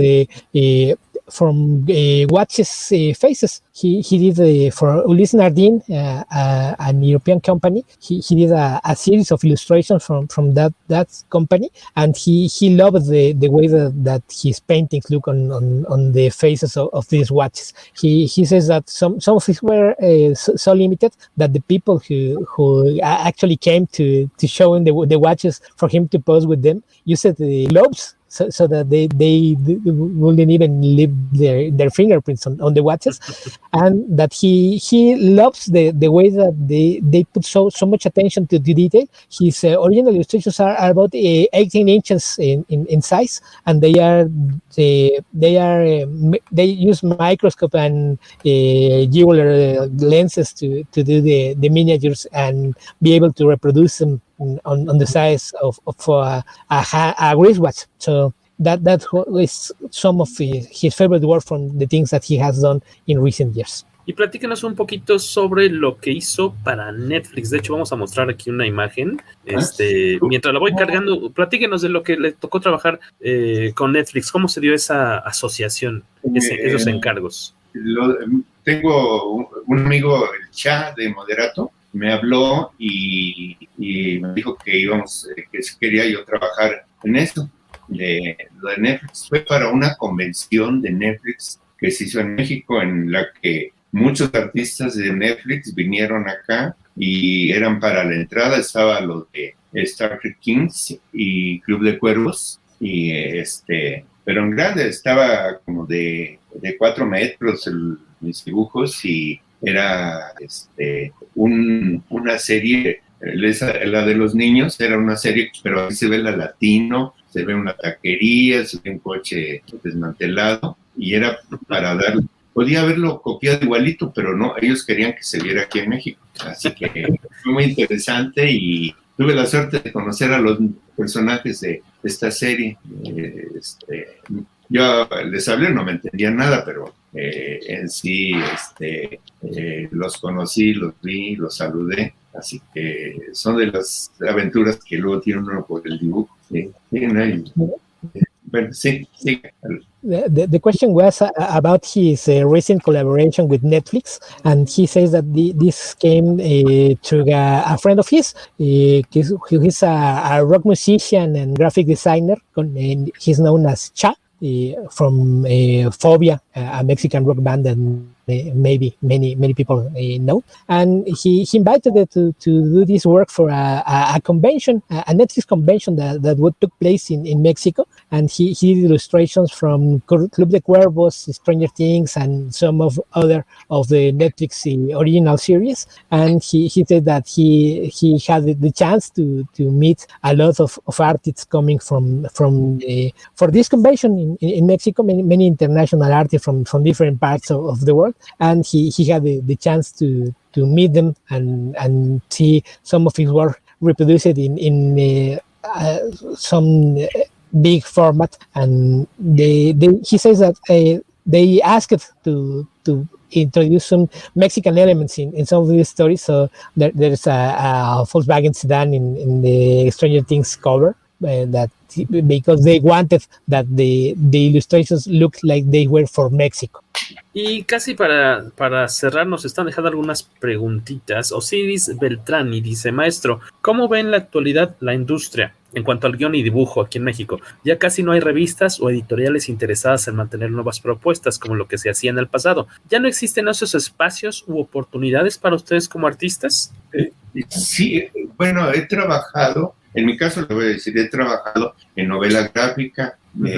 watches faces. He did for Ulises Nardin, an European company. He did a series of illustrations from that company, and he loved the way that his paintings look on the faces of these watches. He says that some of these were so limited that the people who actually came to show him the watches for him to pose with them used the globes. So that they wouldn't even leave their fingerprints on the watches, and that he loves the way that they put so much attention to the detail. His original illustrations are about 18 inches in size, and they use microscope and jeweler lenses to do the miniatures and be able to reproduce them on the size of a wristwatch. So that is some of his favorite work from the things that he has done in recent years. Y platícanos un poquito sobre lo que hizo para Netflix. De hecho, vamos a mostrar aquí una imagen. Mientras la voy cargando, platíquenos de lo que le tocó trabajar con Netflix. ¿Cómo se dio esa asociación, esos encargos? Tengo un amigo, el Cha de Moderato, me habló y me dijo que si quería yo trabajar en eso, de Netflix. Fue para una convención de Netflix que se hizo en México, en la que muchos artistas de Netflix vinieron acá y eran para la entrada, estaba lo de Star Trek Kings y Club de Cuervos, y pero en grande, estaba como de 4 metros mis dibujos, y era una serie, la de los niños era una serie, pero ahí se ve la Latino, se ve una taquería, se ve un coche desmantelado, y era para dar podía haberlo copiado igualito, pero no, ellos querían que se viera aquí en México. Así que fue muy interesante y tuve la suerte de conocer a los personajes de esta serie. Yo les hablé, no me entendían nada, pero en sí los conocí, los vi, los saludé. Así que son de las aventuras que luego tiene uno por el dibujo. Sí, bueno, sí. The question was about his recent collaboration with Netflix, and he says that this came through a friend of his. He's a rock musician and graphic designer, and he's known as Cha from Phobia, a Mexican rock band that maybe many people know. And he invited them to do this work for a convention, a Netflix convention that took place in Mexico. And he did illustrations from Club de Cuervos, Stranger Things, and some of other of the Netflix original series. And he said that he had the chance to meet a lot of artists coming from for this convention in Mexico, many international artists from different parts of the world. And he had the chance to meet them and see some of his work reproduced in some big format. And he says that they asked to introduce some Mexican elements in some of these stories. So there's a Volkswagen sedan in the Stranger Things cover, that because they wanted that the illustrations looked like they were for Mexico. Y casi para cerrar, nos están dejando algunas preguntitas. Osiris Beltrani dice: maestro, ¿cómo ve en la actualidad la industria en cuanto al guión y dibujo aquí en México? Ya casi no hay revistas o editoriales interesadas en mantener nuevas propuestas como lo que se hacía en el pasado. ¿Ya no existen esos espacios u oportunidades para ustedes como artistas? Sí, bueno, he trabajado, en mi caso le voy a decir, he trabajado en novela gráfica,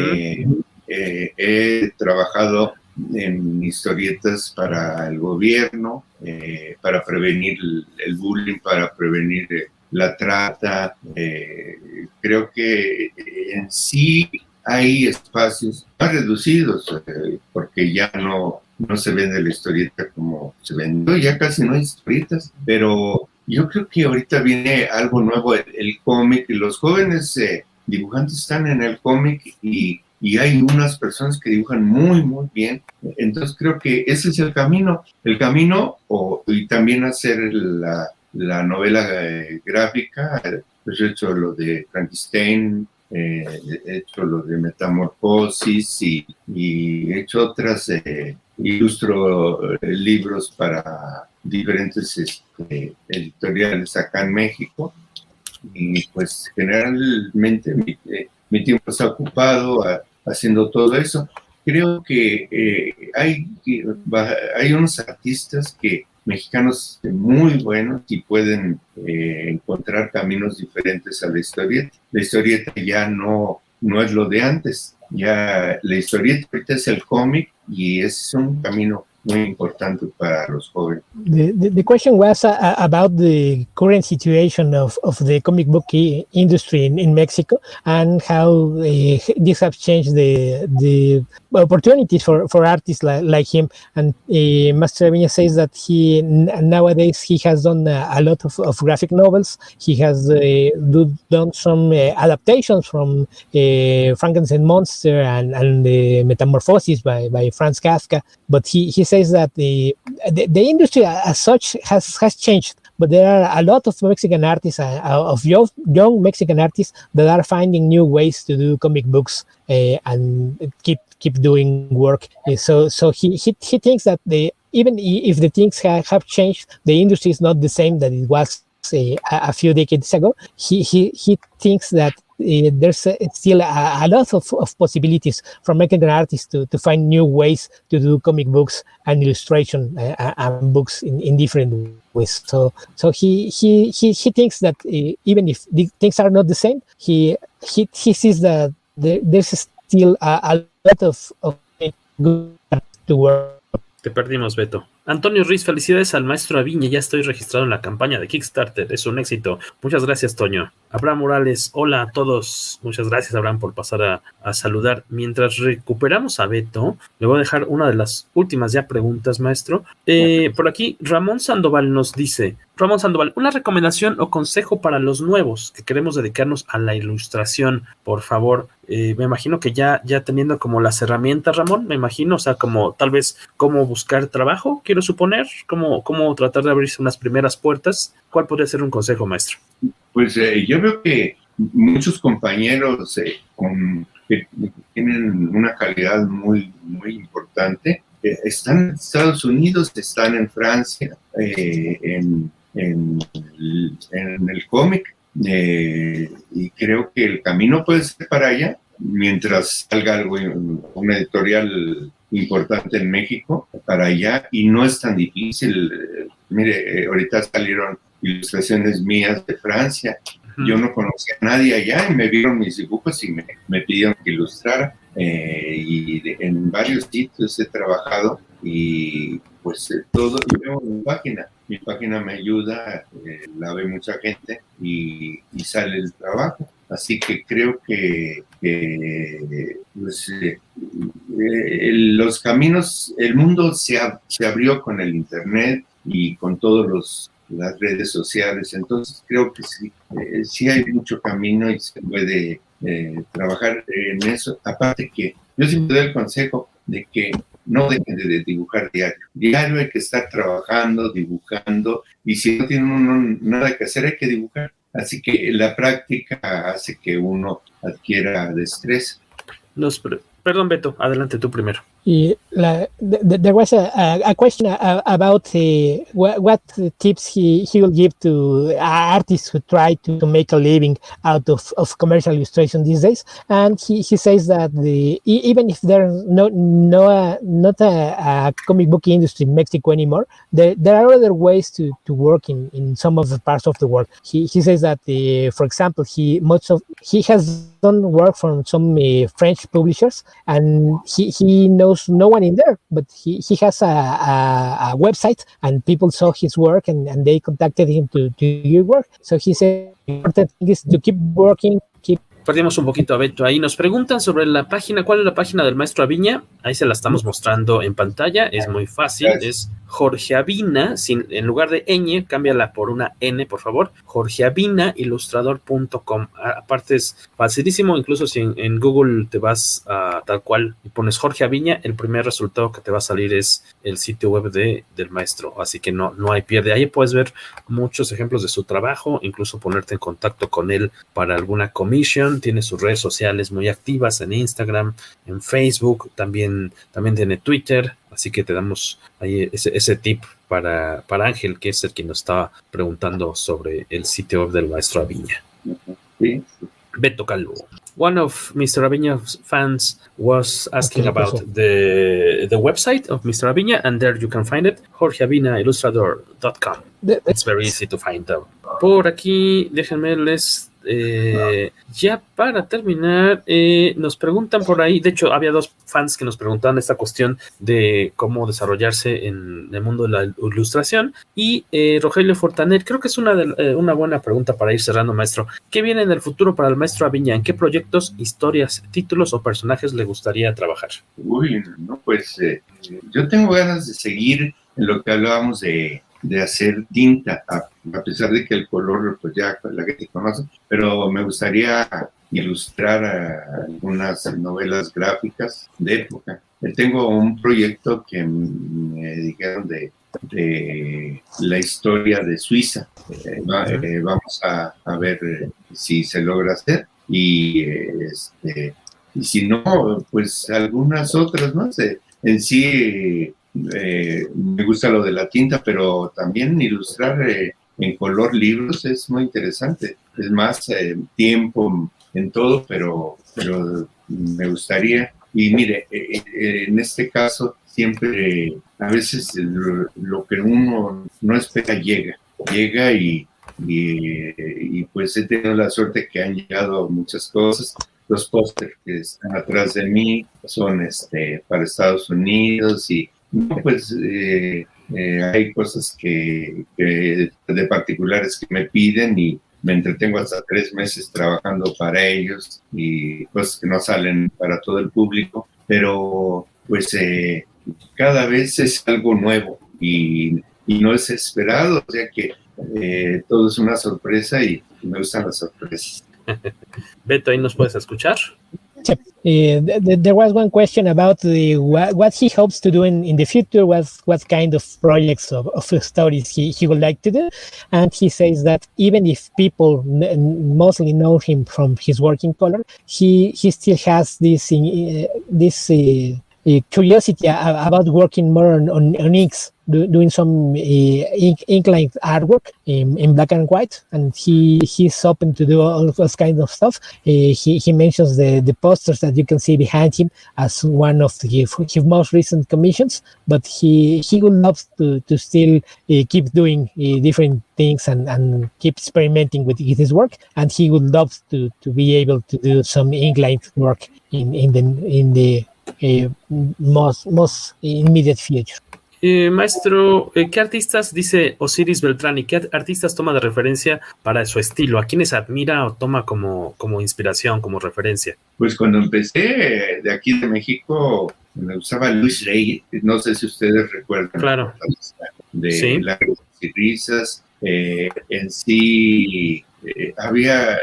he trabajado en historietas para el gobierno, para prevenir el bullying, para prevenir la trata. Creo que en sí hay espacios más reducidos, porque ya no se vende la historieta como se vendió, ya casi no hay historietas, pero yo creo que ahorita viene algo nuevo, el cómic, y los jóvenes dibujantes están en el cómic y hay unas personas que dibujan muy, muy bien. Entonces creo que ese es el camino, y también hacer la novela gráfica. Pues he hecho lo de Frankenstein, he hecho lo de Metamorfosis y he hecho otras, ilustro libros para diferentes editoriales acá en México. Y pues generalmente mi tiempo está ocupado haciendo todo eso. Creo que hay unos artistas mexicanos muy buenos y pueden encontrar caminos diferentes a la historieta. La historieta ya no es lo de antes. Ya la historieta ahorita es el cómic y es un camino muy importante para los jóvenes. The question was about the current situation of the comic book industry in Mexico, and how this has changed the opportunities for artists like him. And Master Aviña says that nowadays he has done a lot of graphic novels. He has done some adaptations from Frankenstein Monster and Metamorphosis by Franz Kafka. But he says that the industry as such has changed, but there are a lot of Mexican artists, of young Mexican artists, that are finding new ways to do comic books and keep doing work. So he thinks that even if the things have changed, the industry is not the same that it was a few decades ago. He thinks that there's still a lot of possibilities for Mexican artists to find new ways to do comic books and illustration and books in different ways. So he thinks that even if the things are not the same, he sees that there's still a lot of good to work. Te perdimos, Beto. Antonio Ruiz, felicidades al maestro Aviña, ya estoy registrado en la campaña de Kickstarter, es un éxito. Muchas gracias, Toño. Abraham Morales, hola a todos. Muchas gracias, Abraham, por pasar a saludar. Mientras recuperamos a Beto, le voy a dejar una de las últimas ya preguntas, maestro. Por aquí, Ramón Sandoval nos dice, Ramón Sandoval, una recomendación o consejo para los nuevos que queremos dedicarnos a la ilustración, por favor. Me imagino que ya teniendo como las herramientas, Ramón, me imagino, o sea, como tal vez cómo buscar trabajo, quiero suponer, cómo tratar de abrirse unas primeras puertas. ¿Cuál podría ser un consejo, maestro? Pues yo veo que muchos compañeros que tienen una calidad muy, muy importante, están en Estados Unidos, están en Francia, en el cómic, y creo que el camino puede ser para allá, mientras salga algo, una editorial importante en México, para allá, y no es tan difícil. Mire, ahorita salieron ilustraciones mías de Francia. Yo no conocía a nadie allá y me vieron mis dibujos y me pidieron que ilustrara. En varios sitios he trabajado y pues todo. Yo tengo mi página me ayuda, la ve mucha gente y sale el trabajo. Así que creo que pues, los caminos, el mundo se abrió con el internet y con todas las redes sociales. Entonces creo que sí hay mucho camino y se puede trabajar en eso. Aparte que yo siempre doy el consejo de que no dejen de dibujar diario. Diario hay que estar trabajando, dibujando, y si no tiene uno nada que hacer, hay que dibujar. Así que la práctica hace que uno adquiera destreza. Perdón, Beto, adelante tú primero. There was a question about what tips he will give to artists who try to make a living out of commercial illustration these days, and he says that even if there's not a comic book industry in Mexico anymore, there are other ways to work in some of the parts of the world. He says that for example he has done work from some French publishers, and he knows no one in there, but he has a website, and people saw his work and they contacted him to do your work. So he said the important thing is to keep working. Perdimos un poquito a Beto ahí. Nos preguntan sobre la página. ¿Cuál es la página del maestro Aviña? Ahí se la estamos mostrando en pantalla. Es muy fácil. Es Jorge Avina. En lugar de ñ, cámbiala por una N, por favor. jorgeavinailustrador.com. Aparte es facilísimo. Incluso si en Google te vas a tal cual y pones Jorge Aviña, el primer resultado que te va a salir es el sitio web del maestro. Así que no hay pierde. Ahí puedes ver muchos ejemplos de su trabajo. Incluso ponerte en contacto con él para alguna commission. Tiene sus redes sociales muy activas en Instagram, en Facebook, también tiene Twitter, así que te damos ahí ese tip para Ángel, que es el que nos estaba preguntando sobre el sitio web del maestro Aviña. Sí. Beto Calvo. One of Mr. Aviña's fans was asking about the website of Mr. Aviña, and there you can find it, jorgeavinailustrador.com. It's very easy to find out. Por aquí, déjenme ya para terminar, nos preguntan por ahí, de hecho había dos fans que nos preguntaban esta cuestión de cómo desarrollarse en el mundo de la ilustración, y Rogelio Fortanet, creo que es una buena pregunta para ir cerrando, maestro. ¿Qué viene en el futuro para el maestro Aviña? ¿En qué proyectos, historias, títulos o personajes le gustaría trabajar? Pues yo tengo ganas de seguir en lo que hablábamos de hacer tinta, a pesar de que el color pues ya la gente conoce, pero me gustaría ilustrar algunas novelas gráficas de época. Tengo un proyecto que me dijeron de la historia de Suiza. Vamos a ver si se logra hacer, y si no, pues algunas otras más. En sí me gusta lo de la tinta, pero también ilustrar en color libros es muy interesante. Es más tiempo en todo, pero me gustaría. Y mire, en este caso siempre, a veces lo que uno no espera llega y pues he tenido la suerte que han llegado muchas cosas. Los pósters que están atrás de mí son para Estados Unidos, y pues Hay cosas que de particulares que me piden y me entretengo hasta 3 meses trabajando para ellos y cosas que no salen para todo el público, pero pues cada vez es algo nuevo y no es esperado, o sea que todo es una sorpresa y me gustan las sorpresas. Beto, ¿ahí nos puedes escuchar? There was one question about what he hopes to do in the future, what kind of projects of stories he would like to do, and he says that even if people mostly know him from his work in color, he still has this curiosity about working more on inks, doing some ink-like artwork in black and white, and he's open to do all those kinds of stuff. He mentions the posters that you can see behind him as one of his most recent commissions, but he would love to still keep doing different things and keep experimenting with his work, and he would love to be able to do some ink-like work in the most immediate future. Maestro, ¿qué artistas, dice Osiris Beltrán, qué artistas toma de referencia para su estilo? ¿A quiénes admira o toma como inspiración, como referencia? Pues cuando empecé de aquí de México, me usaba Luis Rey, no sé si ustedes recuerdan. Claro. De ¿Sí? Lágrimas y Risas. En sí había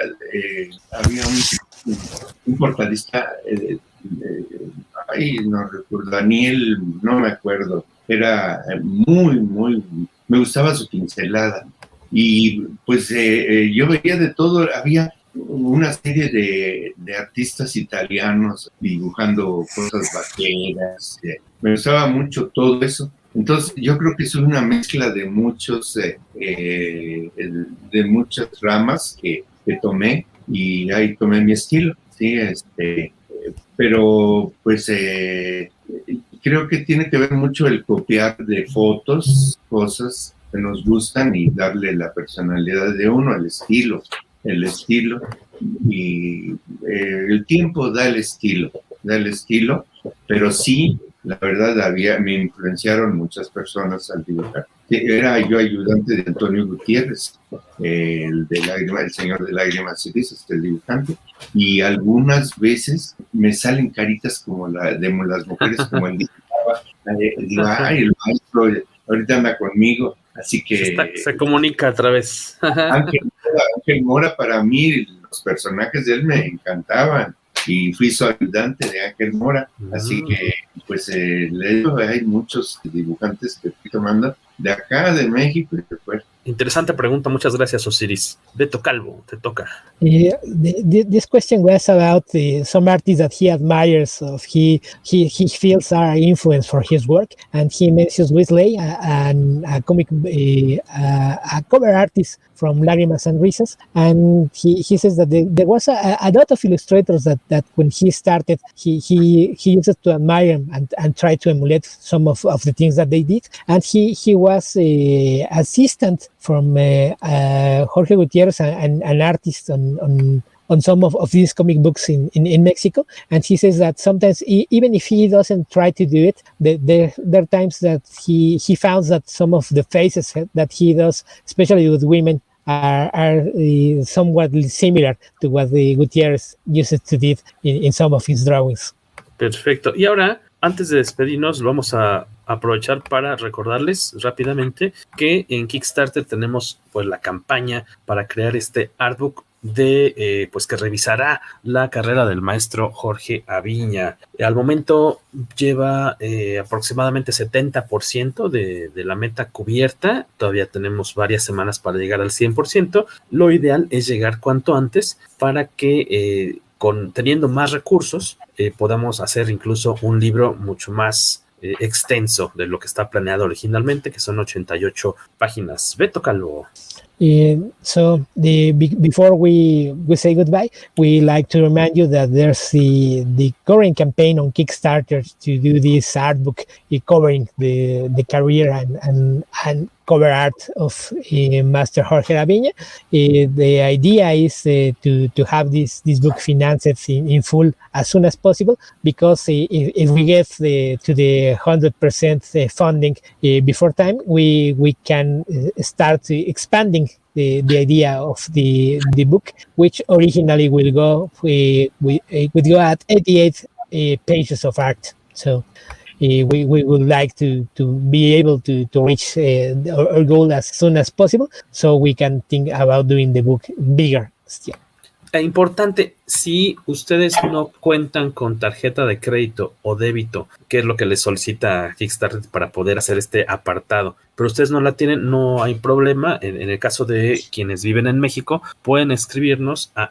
un portadista, no recuerdo, Daniel, no me acuerdo, era muy, me gustaba su pincelada y pues yo veía de todo, había una serie de artistas italianos dibujando cosas vaqueras, me gustaba mucho todo eso. Entonces yo creo que es una mezcla de muchas ramas que tomé y ahí tomé mi estilo, sí, pero pues creo que tiene que ver mucho el copiar de fotos, cosas que nos gustan y darle la personalidad de uno, el estilo, y el tiempo da el estilo, pero sí, la verdad me influenciaron muchas personas al dibujar. Era yo ayudante de Antonio Gutiérrez, el señor de Lágrimas y Risas, el dibujante, y algunas veces me salen caritas como de las mujeres, como él dibujaba. Digo, ay, el maestro ahorita anda conmigo, así que... Se comunica a través. Ángel Mora, para mí, los personajes de él me encantaban, y fui su ayudante de Ángel Mora, así que, pues, le digo, hay muchos dibujantes que estoy tomando de acá, de México y de fuera. Interesante pregunta, muchas gracias, Osiris. Beto Calvo, te toca. This question was about some artists that he admires, he feels are influence for his work, and he mentions Wesley, a cover artist from Lágrimas and Risas, and he says that there was a lot of illustrators that when he started, he used to admire them and try to emulate some of the things that they did, and he was assistant from Jorge Gutierrez, an artist on some of these comic books in Mexico, and he says that sometimes even if he doesn't try to do it, there are times that he found that some of the faces that he does, especially with women, are somewhat similar to what the Gutierrez used to do in some of his drawings. Perfecto. Y ahora, antes de despedirnos, vamos a aprovechar para recordarles rápidamente que en Kickstarter tenemos pues la campaña para crear este artbook de pues que revisará la carrera del maestro Jorge Aviña. Al momento lleva aproximadamente 70% de la meta cubierta. Todavía tenemos varias semanas para llegar al 100%. Lo ideal es llegar cuanto antes para que teniendo más recursos podamos hacer incluso un libro mucho más extenso de lo que está planeado originalmente, que son 88 páginas. Beto Calvo. So before we say goodbye, we like to remind you that there's the current campaign on Kickstarter to do this art book covering the career and cover art of Master Jorge Laviña. The idea is to have this book financed in full as soon as possible, because if we get to the 100% funding before time, we can start expanding the idea of the book, which originally would go at 88 pages of art. So we would like to be able to reach our goal as soon as possible, so we can think about doing the book bigger still. Importante, si ustedes no cuentan con tarjeta de crédito o débito, que es lo que les solicita Kickstarter para poder hacer este apartado, pero ustedes no la tienen, no hay problema. En el caso de quienes viven en México, pueden escribirnos a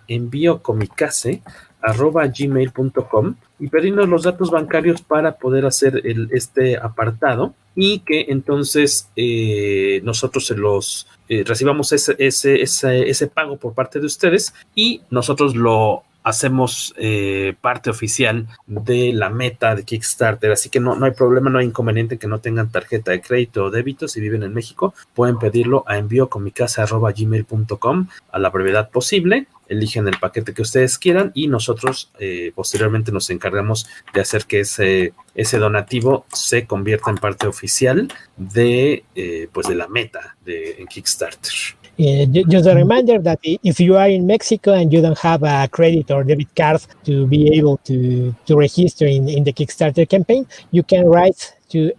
enviocomicase@gmail.com y pedirnos los datos bancarios para poder hacer este apartado, y que entonces nosotros se los recibamos ese pago por parte de ustedes, y nosotros lo hacemos parte oficial de la meta de Kickstarter. Así que no hay problema, no hay inconveniente que no tengan tarjeta de crédito o débito. Si viven en México, pueden pedirlo a enviocomicase@gmail.com a la brevedad posible. Eligen el paquete que ustedes quieran y nosotros posteriormente nos encargamos de hacer que ese donativo se convierta en parte oficial de la meta de Kickstarter. Just a reminder that if you are in Mexico and you don't have a credit or debit card to be able to register in the Kickstarter campaign, you can write to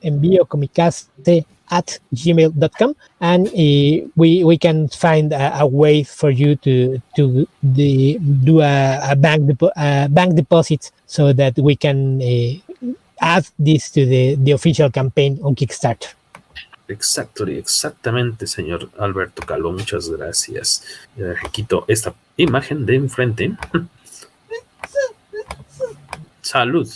enviocomicase@gmail.com, and we can find a way for you to do a bank deposit, so that we can add this to the official campaign on Kickstarter. Exactamente, señor Alberto Calvo, muchas gracias. Quito esta imagen de enfrente. Salud.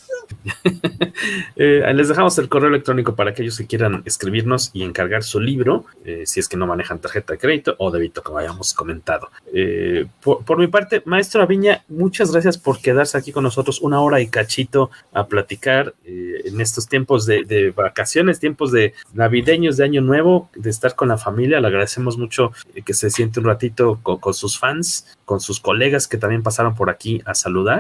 Les dejamos el correo electrónico para aquellos que quieran escribirnos y encargar su libro, si es que no manejan tarjeta de crédito o débito, como habíamos comentado. Por mi parte, maestro Aviña, muchas gracias por quedarse aquí con nosotros 1 hora y cachito a platicar en estos tiempos de vacaciones, tiempos de navideños, de Año Nuevo, de estar con la familia. Le agradecemos mucho que se siente un ratito con sus fans, con sus colegas que también pasaron por aquí a saludar.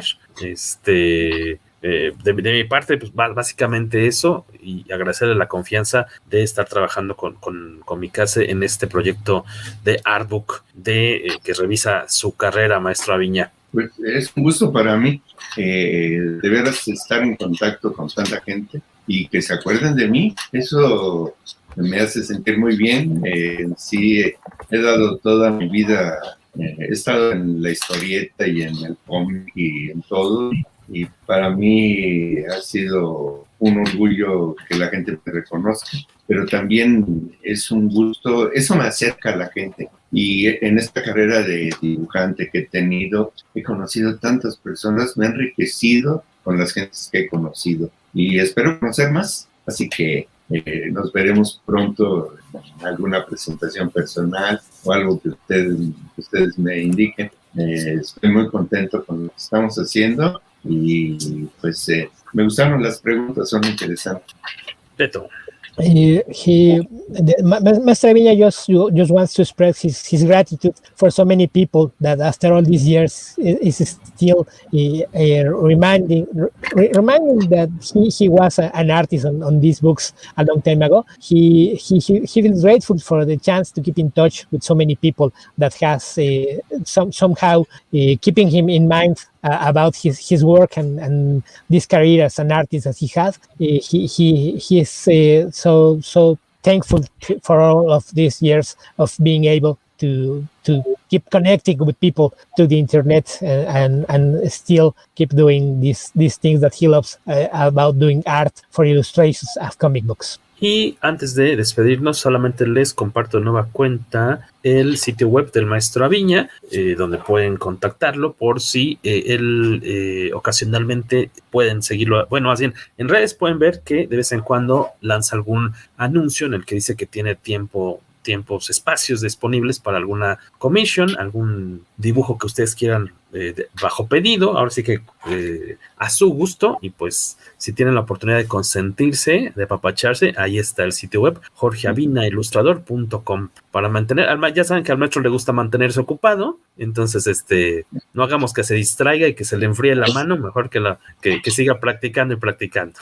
De mi parte, pues básicamente eso, y agradecerle la confianza de estar trabajando con Comicase en este proyecto de Artbook que revisa su carrera, maestro Aviña. Pues es un gusto para mí, de veras, estar en contacto con tanta gente y que se acuerden de mí. Eso me hace sentir muy bien. Sí, he dado toda mi vida, he estado en la historieta y en el cómic y en todo. Y para mí ha sido un orgullo que la gente me reconozca, pero también es un gusto, eso me acerca a la gente. Y en esta carrera de dibujante que he tenido, he conocido tantas personas, me he enriquecido con las gentes que he conocido y espero conocer más. Así que nos veremos pronto en alguna presentación personal o algo que ustedes me indiquen. Estoy muy contento con lo que estamos haciendo. Y pues me gustaron las preguntas, son interesantes. Beto. Master Aviña just wants to express his gratitude for so many people that after all these years is still reminding that he was an artist on these books a long time ago. He feels grateful for the chance to keep in touch with so many people that has somehow keeping him in mind about his work and this career as an artist that he has. He is so thankful for all of these years of being able to keep connecting with people to the internet and still keep doing these things that he loves about doing art for illustrations of comic books. Y antes de despedirnos, solamente les comparto de nueva cuenta el sitio web del maestro Aviña, donde pueden contactarlo por si él ocasionalmente pueden seguirlo. Bueno, más bien, en redes pueden ver que de vez en cuando lanza algún anuncio en el que dice que tiene tiempo tiempos, espacios disponibles para alguna commission, algún dibujo que ustedes quieran bajo pedido, ahora sí que a su gusto, y pues si tienen la oportunidad de consentirse, de apapacharse, ahí está el sitio web jorgeavinailustrador.com para mantener, ya saben que al maestro le gusta mantenerse ocupado, entonces no hagamos que se distraiga y que se le enfríe la mano, mejor que siga practicando y practicando.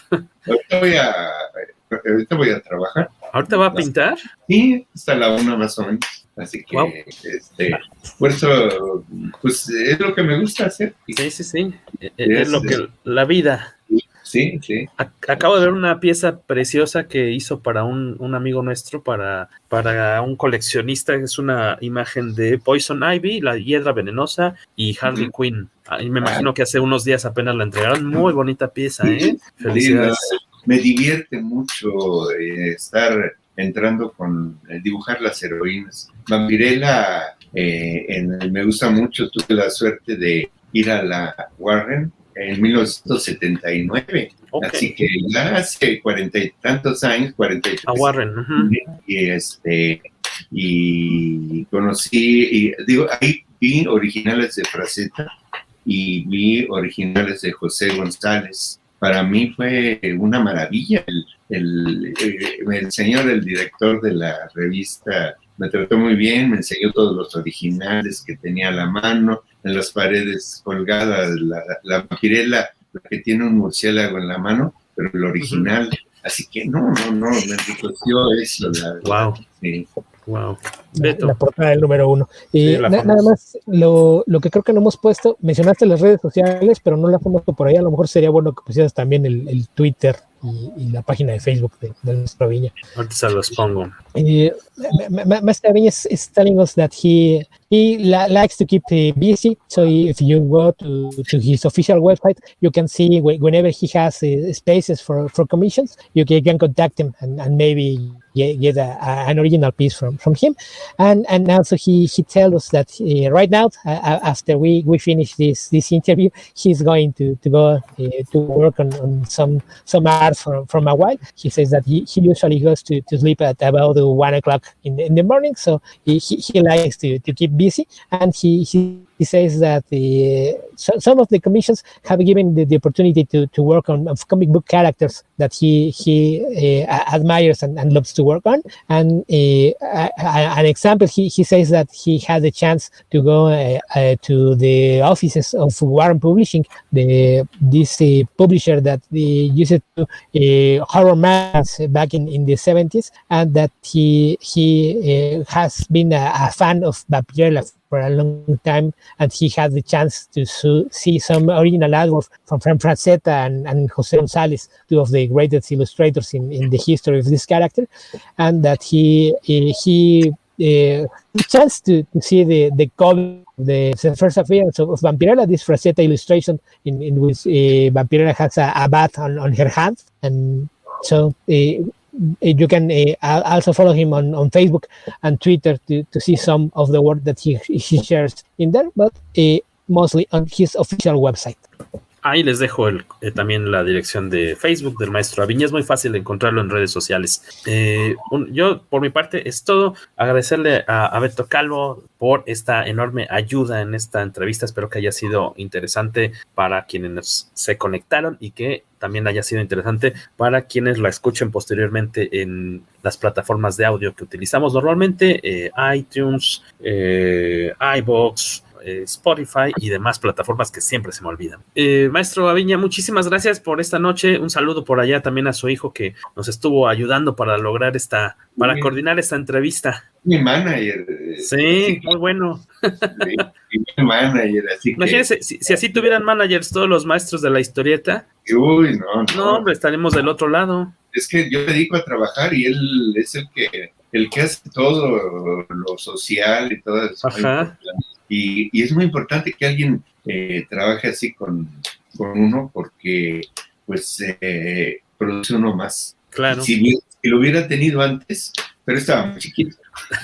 Ahorita voy a trabajar. ¿Ahorita va a pintar? Sí, hasta la 1 más o menos. Así que, por eso, pues es lo que me gusta hacer. Sí. Es lo que la vida. Sí. Acabo de ver una pieza preciosa que hizo para un amigo nuestro, para un coleccionista. Es una imagen de Poison Ivy, la hiedra venenosa, y Harley Quinn. Y me imagino que hace unos días apenas la entregaron. Muy bonita pieza, ¿eh? Felicidades. Me divierte mucho estar entrando con dibujar las heroínas. Vampirella me gusta mucho. Tuve la suerte de ir a la Warren en 1979, así que ya hace 40 y tantos años, 43. A Warren. Y conocí, ahí vi originales de Frazetta y vi originales de José González. Para mí fue una maravilla. El señor, el director de la revista, me trató muy bien, me enseñó todos los originales que tenía a la mano, en las paredes colgadas, la vampirella, la que tiene un murciélago en la mano, pero el original. Así que no, me enriqueció eso. Wow. Sí. Wow. La portada del número 1. Y nada más, lo que creo que no hemos puesto, mencionaste las redes sociales, pero no las hemos puesto por ahí. A lo mejor sería bueno que pusieras también el Twitter y la página de Facebook de Maestro Aviña. Ahorita se los pongo. Maestro Aviña is telling us that he likes to keep busy, so if you go to his official website, you can see whenever he has spaces for commissions, you can contact him and maybe get an original piece from him. And also he tells us that right now, after we finish this interview, he's going to go to work on some art from a while. He says that he usually goes to sleep at about 1 o'clock in the morning, so he likes to keep busy, and he says that some of the commissions have given the opportunity to work on comic book characters that he admires and loves to work on. And an example, he says that he had the chance to go to the offices of Warren Publishing, this publisher that used to horror magazines back in the 70s, and that he has been a fan of Vampirella for a long time, and he had the chance to see some original artwork from Frazetta and Jose González, two of the greatest illustrators in the history of this character, and that he chance to see the cover, the first appearance of Vampirella, this Frazetta illustration in which Vampirella has a bat on her hand, and so you can also follow him on Facebook and Twitter to see some of the work that he shares in there, but mostly on his official website. Ahí les dejo también la dirección de Facebook del Maestro Aviña. Es muy fácil encontrarlo en redes sociales. Yo, por mi parte, es todo. Agradecerle a Beto Calvo por esta enorme ayuda en esta entrevista. Espero que haya sido interesante para quienes se conectaron y que también haya sido interesante para quienes la escuchen posteriormente en las plataformas de audio que utilizamos normalmente, iTunes, iVoox, Spotify y demás plataformas que siempre se me olvidan. Maestro Aviña, muchísimas gracias por esta noche. Un saludo por allá también a su hijo que nos estuvo ayudando para lograr coordinar esta entrevista. Mi manager. Sí, muy bueno. Mi manager, así que... Imagínense, si así tuvieran managers todos los maestros de la historieta. Uy, no, hombre, estaremos del otro lado. Es que yo me dedico a trabajar y él es el que hace todo lo social y todo eso. Ajá. Y es muy importante que alguien trabaje así con uno porque pues produce uno más. Claro. Si lo hubiera tenido antes, pero estaba muy chiquito.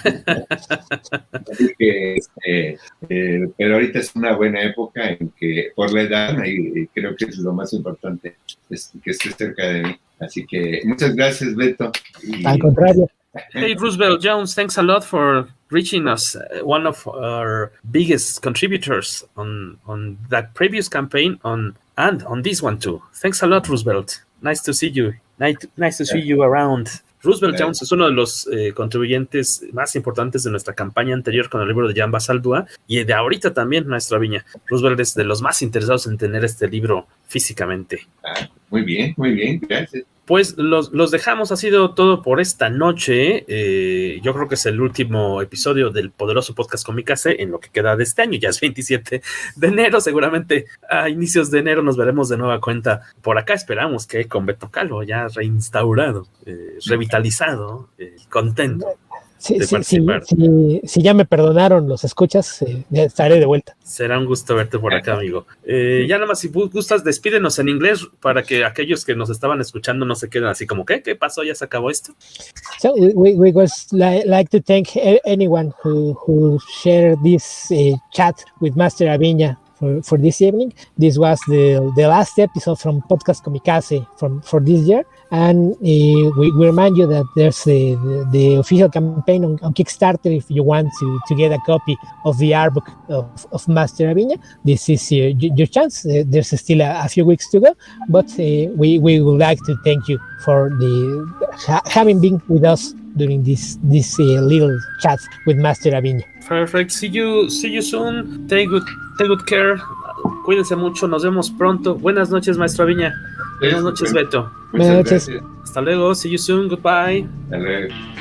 Así que, pero ahorita es una buena época en que por la edad y creo que es lo más importante, es que esté cerca de mí. Así que muchas gracias, Beto. Al contrario, Hey, Roosevelt Jones, thanks a lot for reaching us. One of our biggest contributors on that previous campaign and on this one too. Thanks a lot, Roosevelt. Nice to see you. Nice to see you around. Roosevelt Jones es uno de los contribuyentes más importantes de nuestra campaña anterior con el libro de Jan Basaldúa y de ahorita también, maestro Aviña. Roosevelt es de los más interesados en tener este libro físicamente. Muy bien, gracias. Pues los dejamos, ha sido todo por esta noche. Yo creo que es el último episodio del poderoso podcast Comicase en lo que queda de este año. Ya es 27 de enero, seguramente a inicios de enero nos veremos de nueva cuenta por acá. Esperamos que con Beto Calvo ya reinstaurado, revitalizado, contento. Si ya me perdonaron los escuchas, estaré de vuelta. Será un gusto verte por acá, amigo. Ya nada más, si gustas, despídenos en inglés para que aquellos que nos estaban escuchando no se queden así como, ¿qué pasó? ¿Ya se acabó esto? So we would like to thank anyone who shared this chat with Master Aviña for this evening. This was the last episode from Podcast Comicase for this year. And we remind you that there's the official campaign on Kickstarter if you want to get a copy of the art book of Master Aviña. This is your chance. There's still a few weeks to go, but we would like to thank you for having been with us during this little chat with Master Aviña. Perfect. See you soon. Take good care. Cuídense mucho. Nos vemos pronto. Buenas noches, Maestro Aviña. Buenas noches, Beto. Buenas noches. Hasta luego. See you soon. Goodbye. Hasta luego.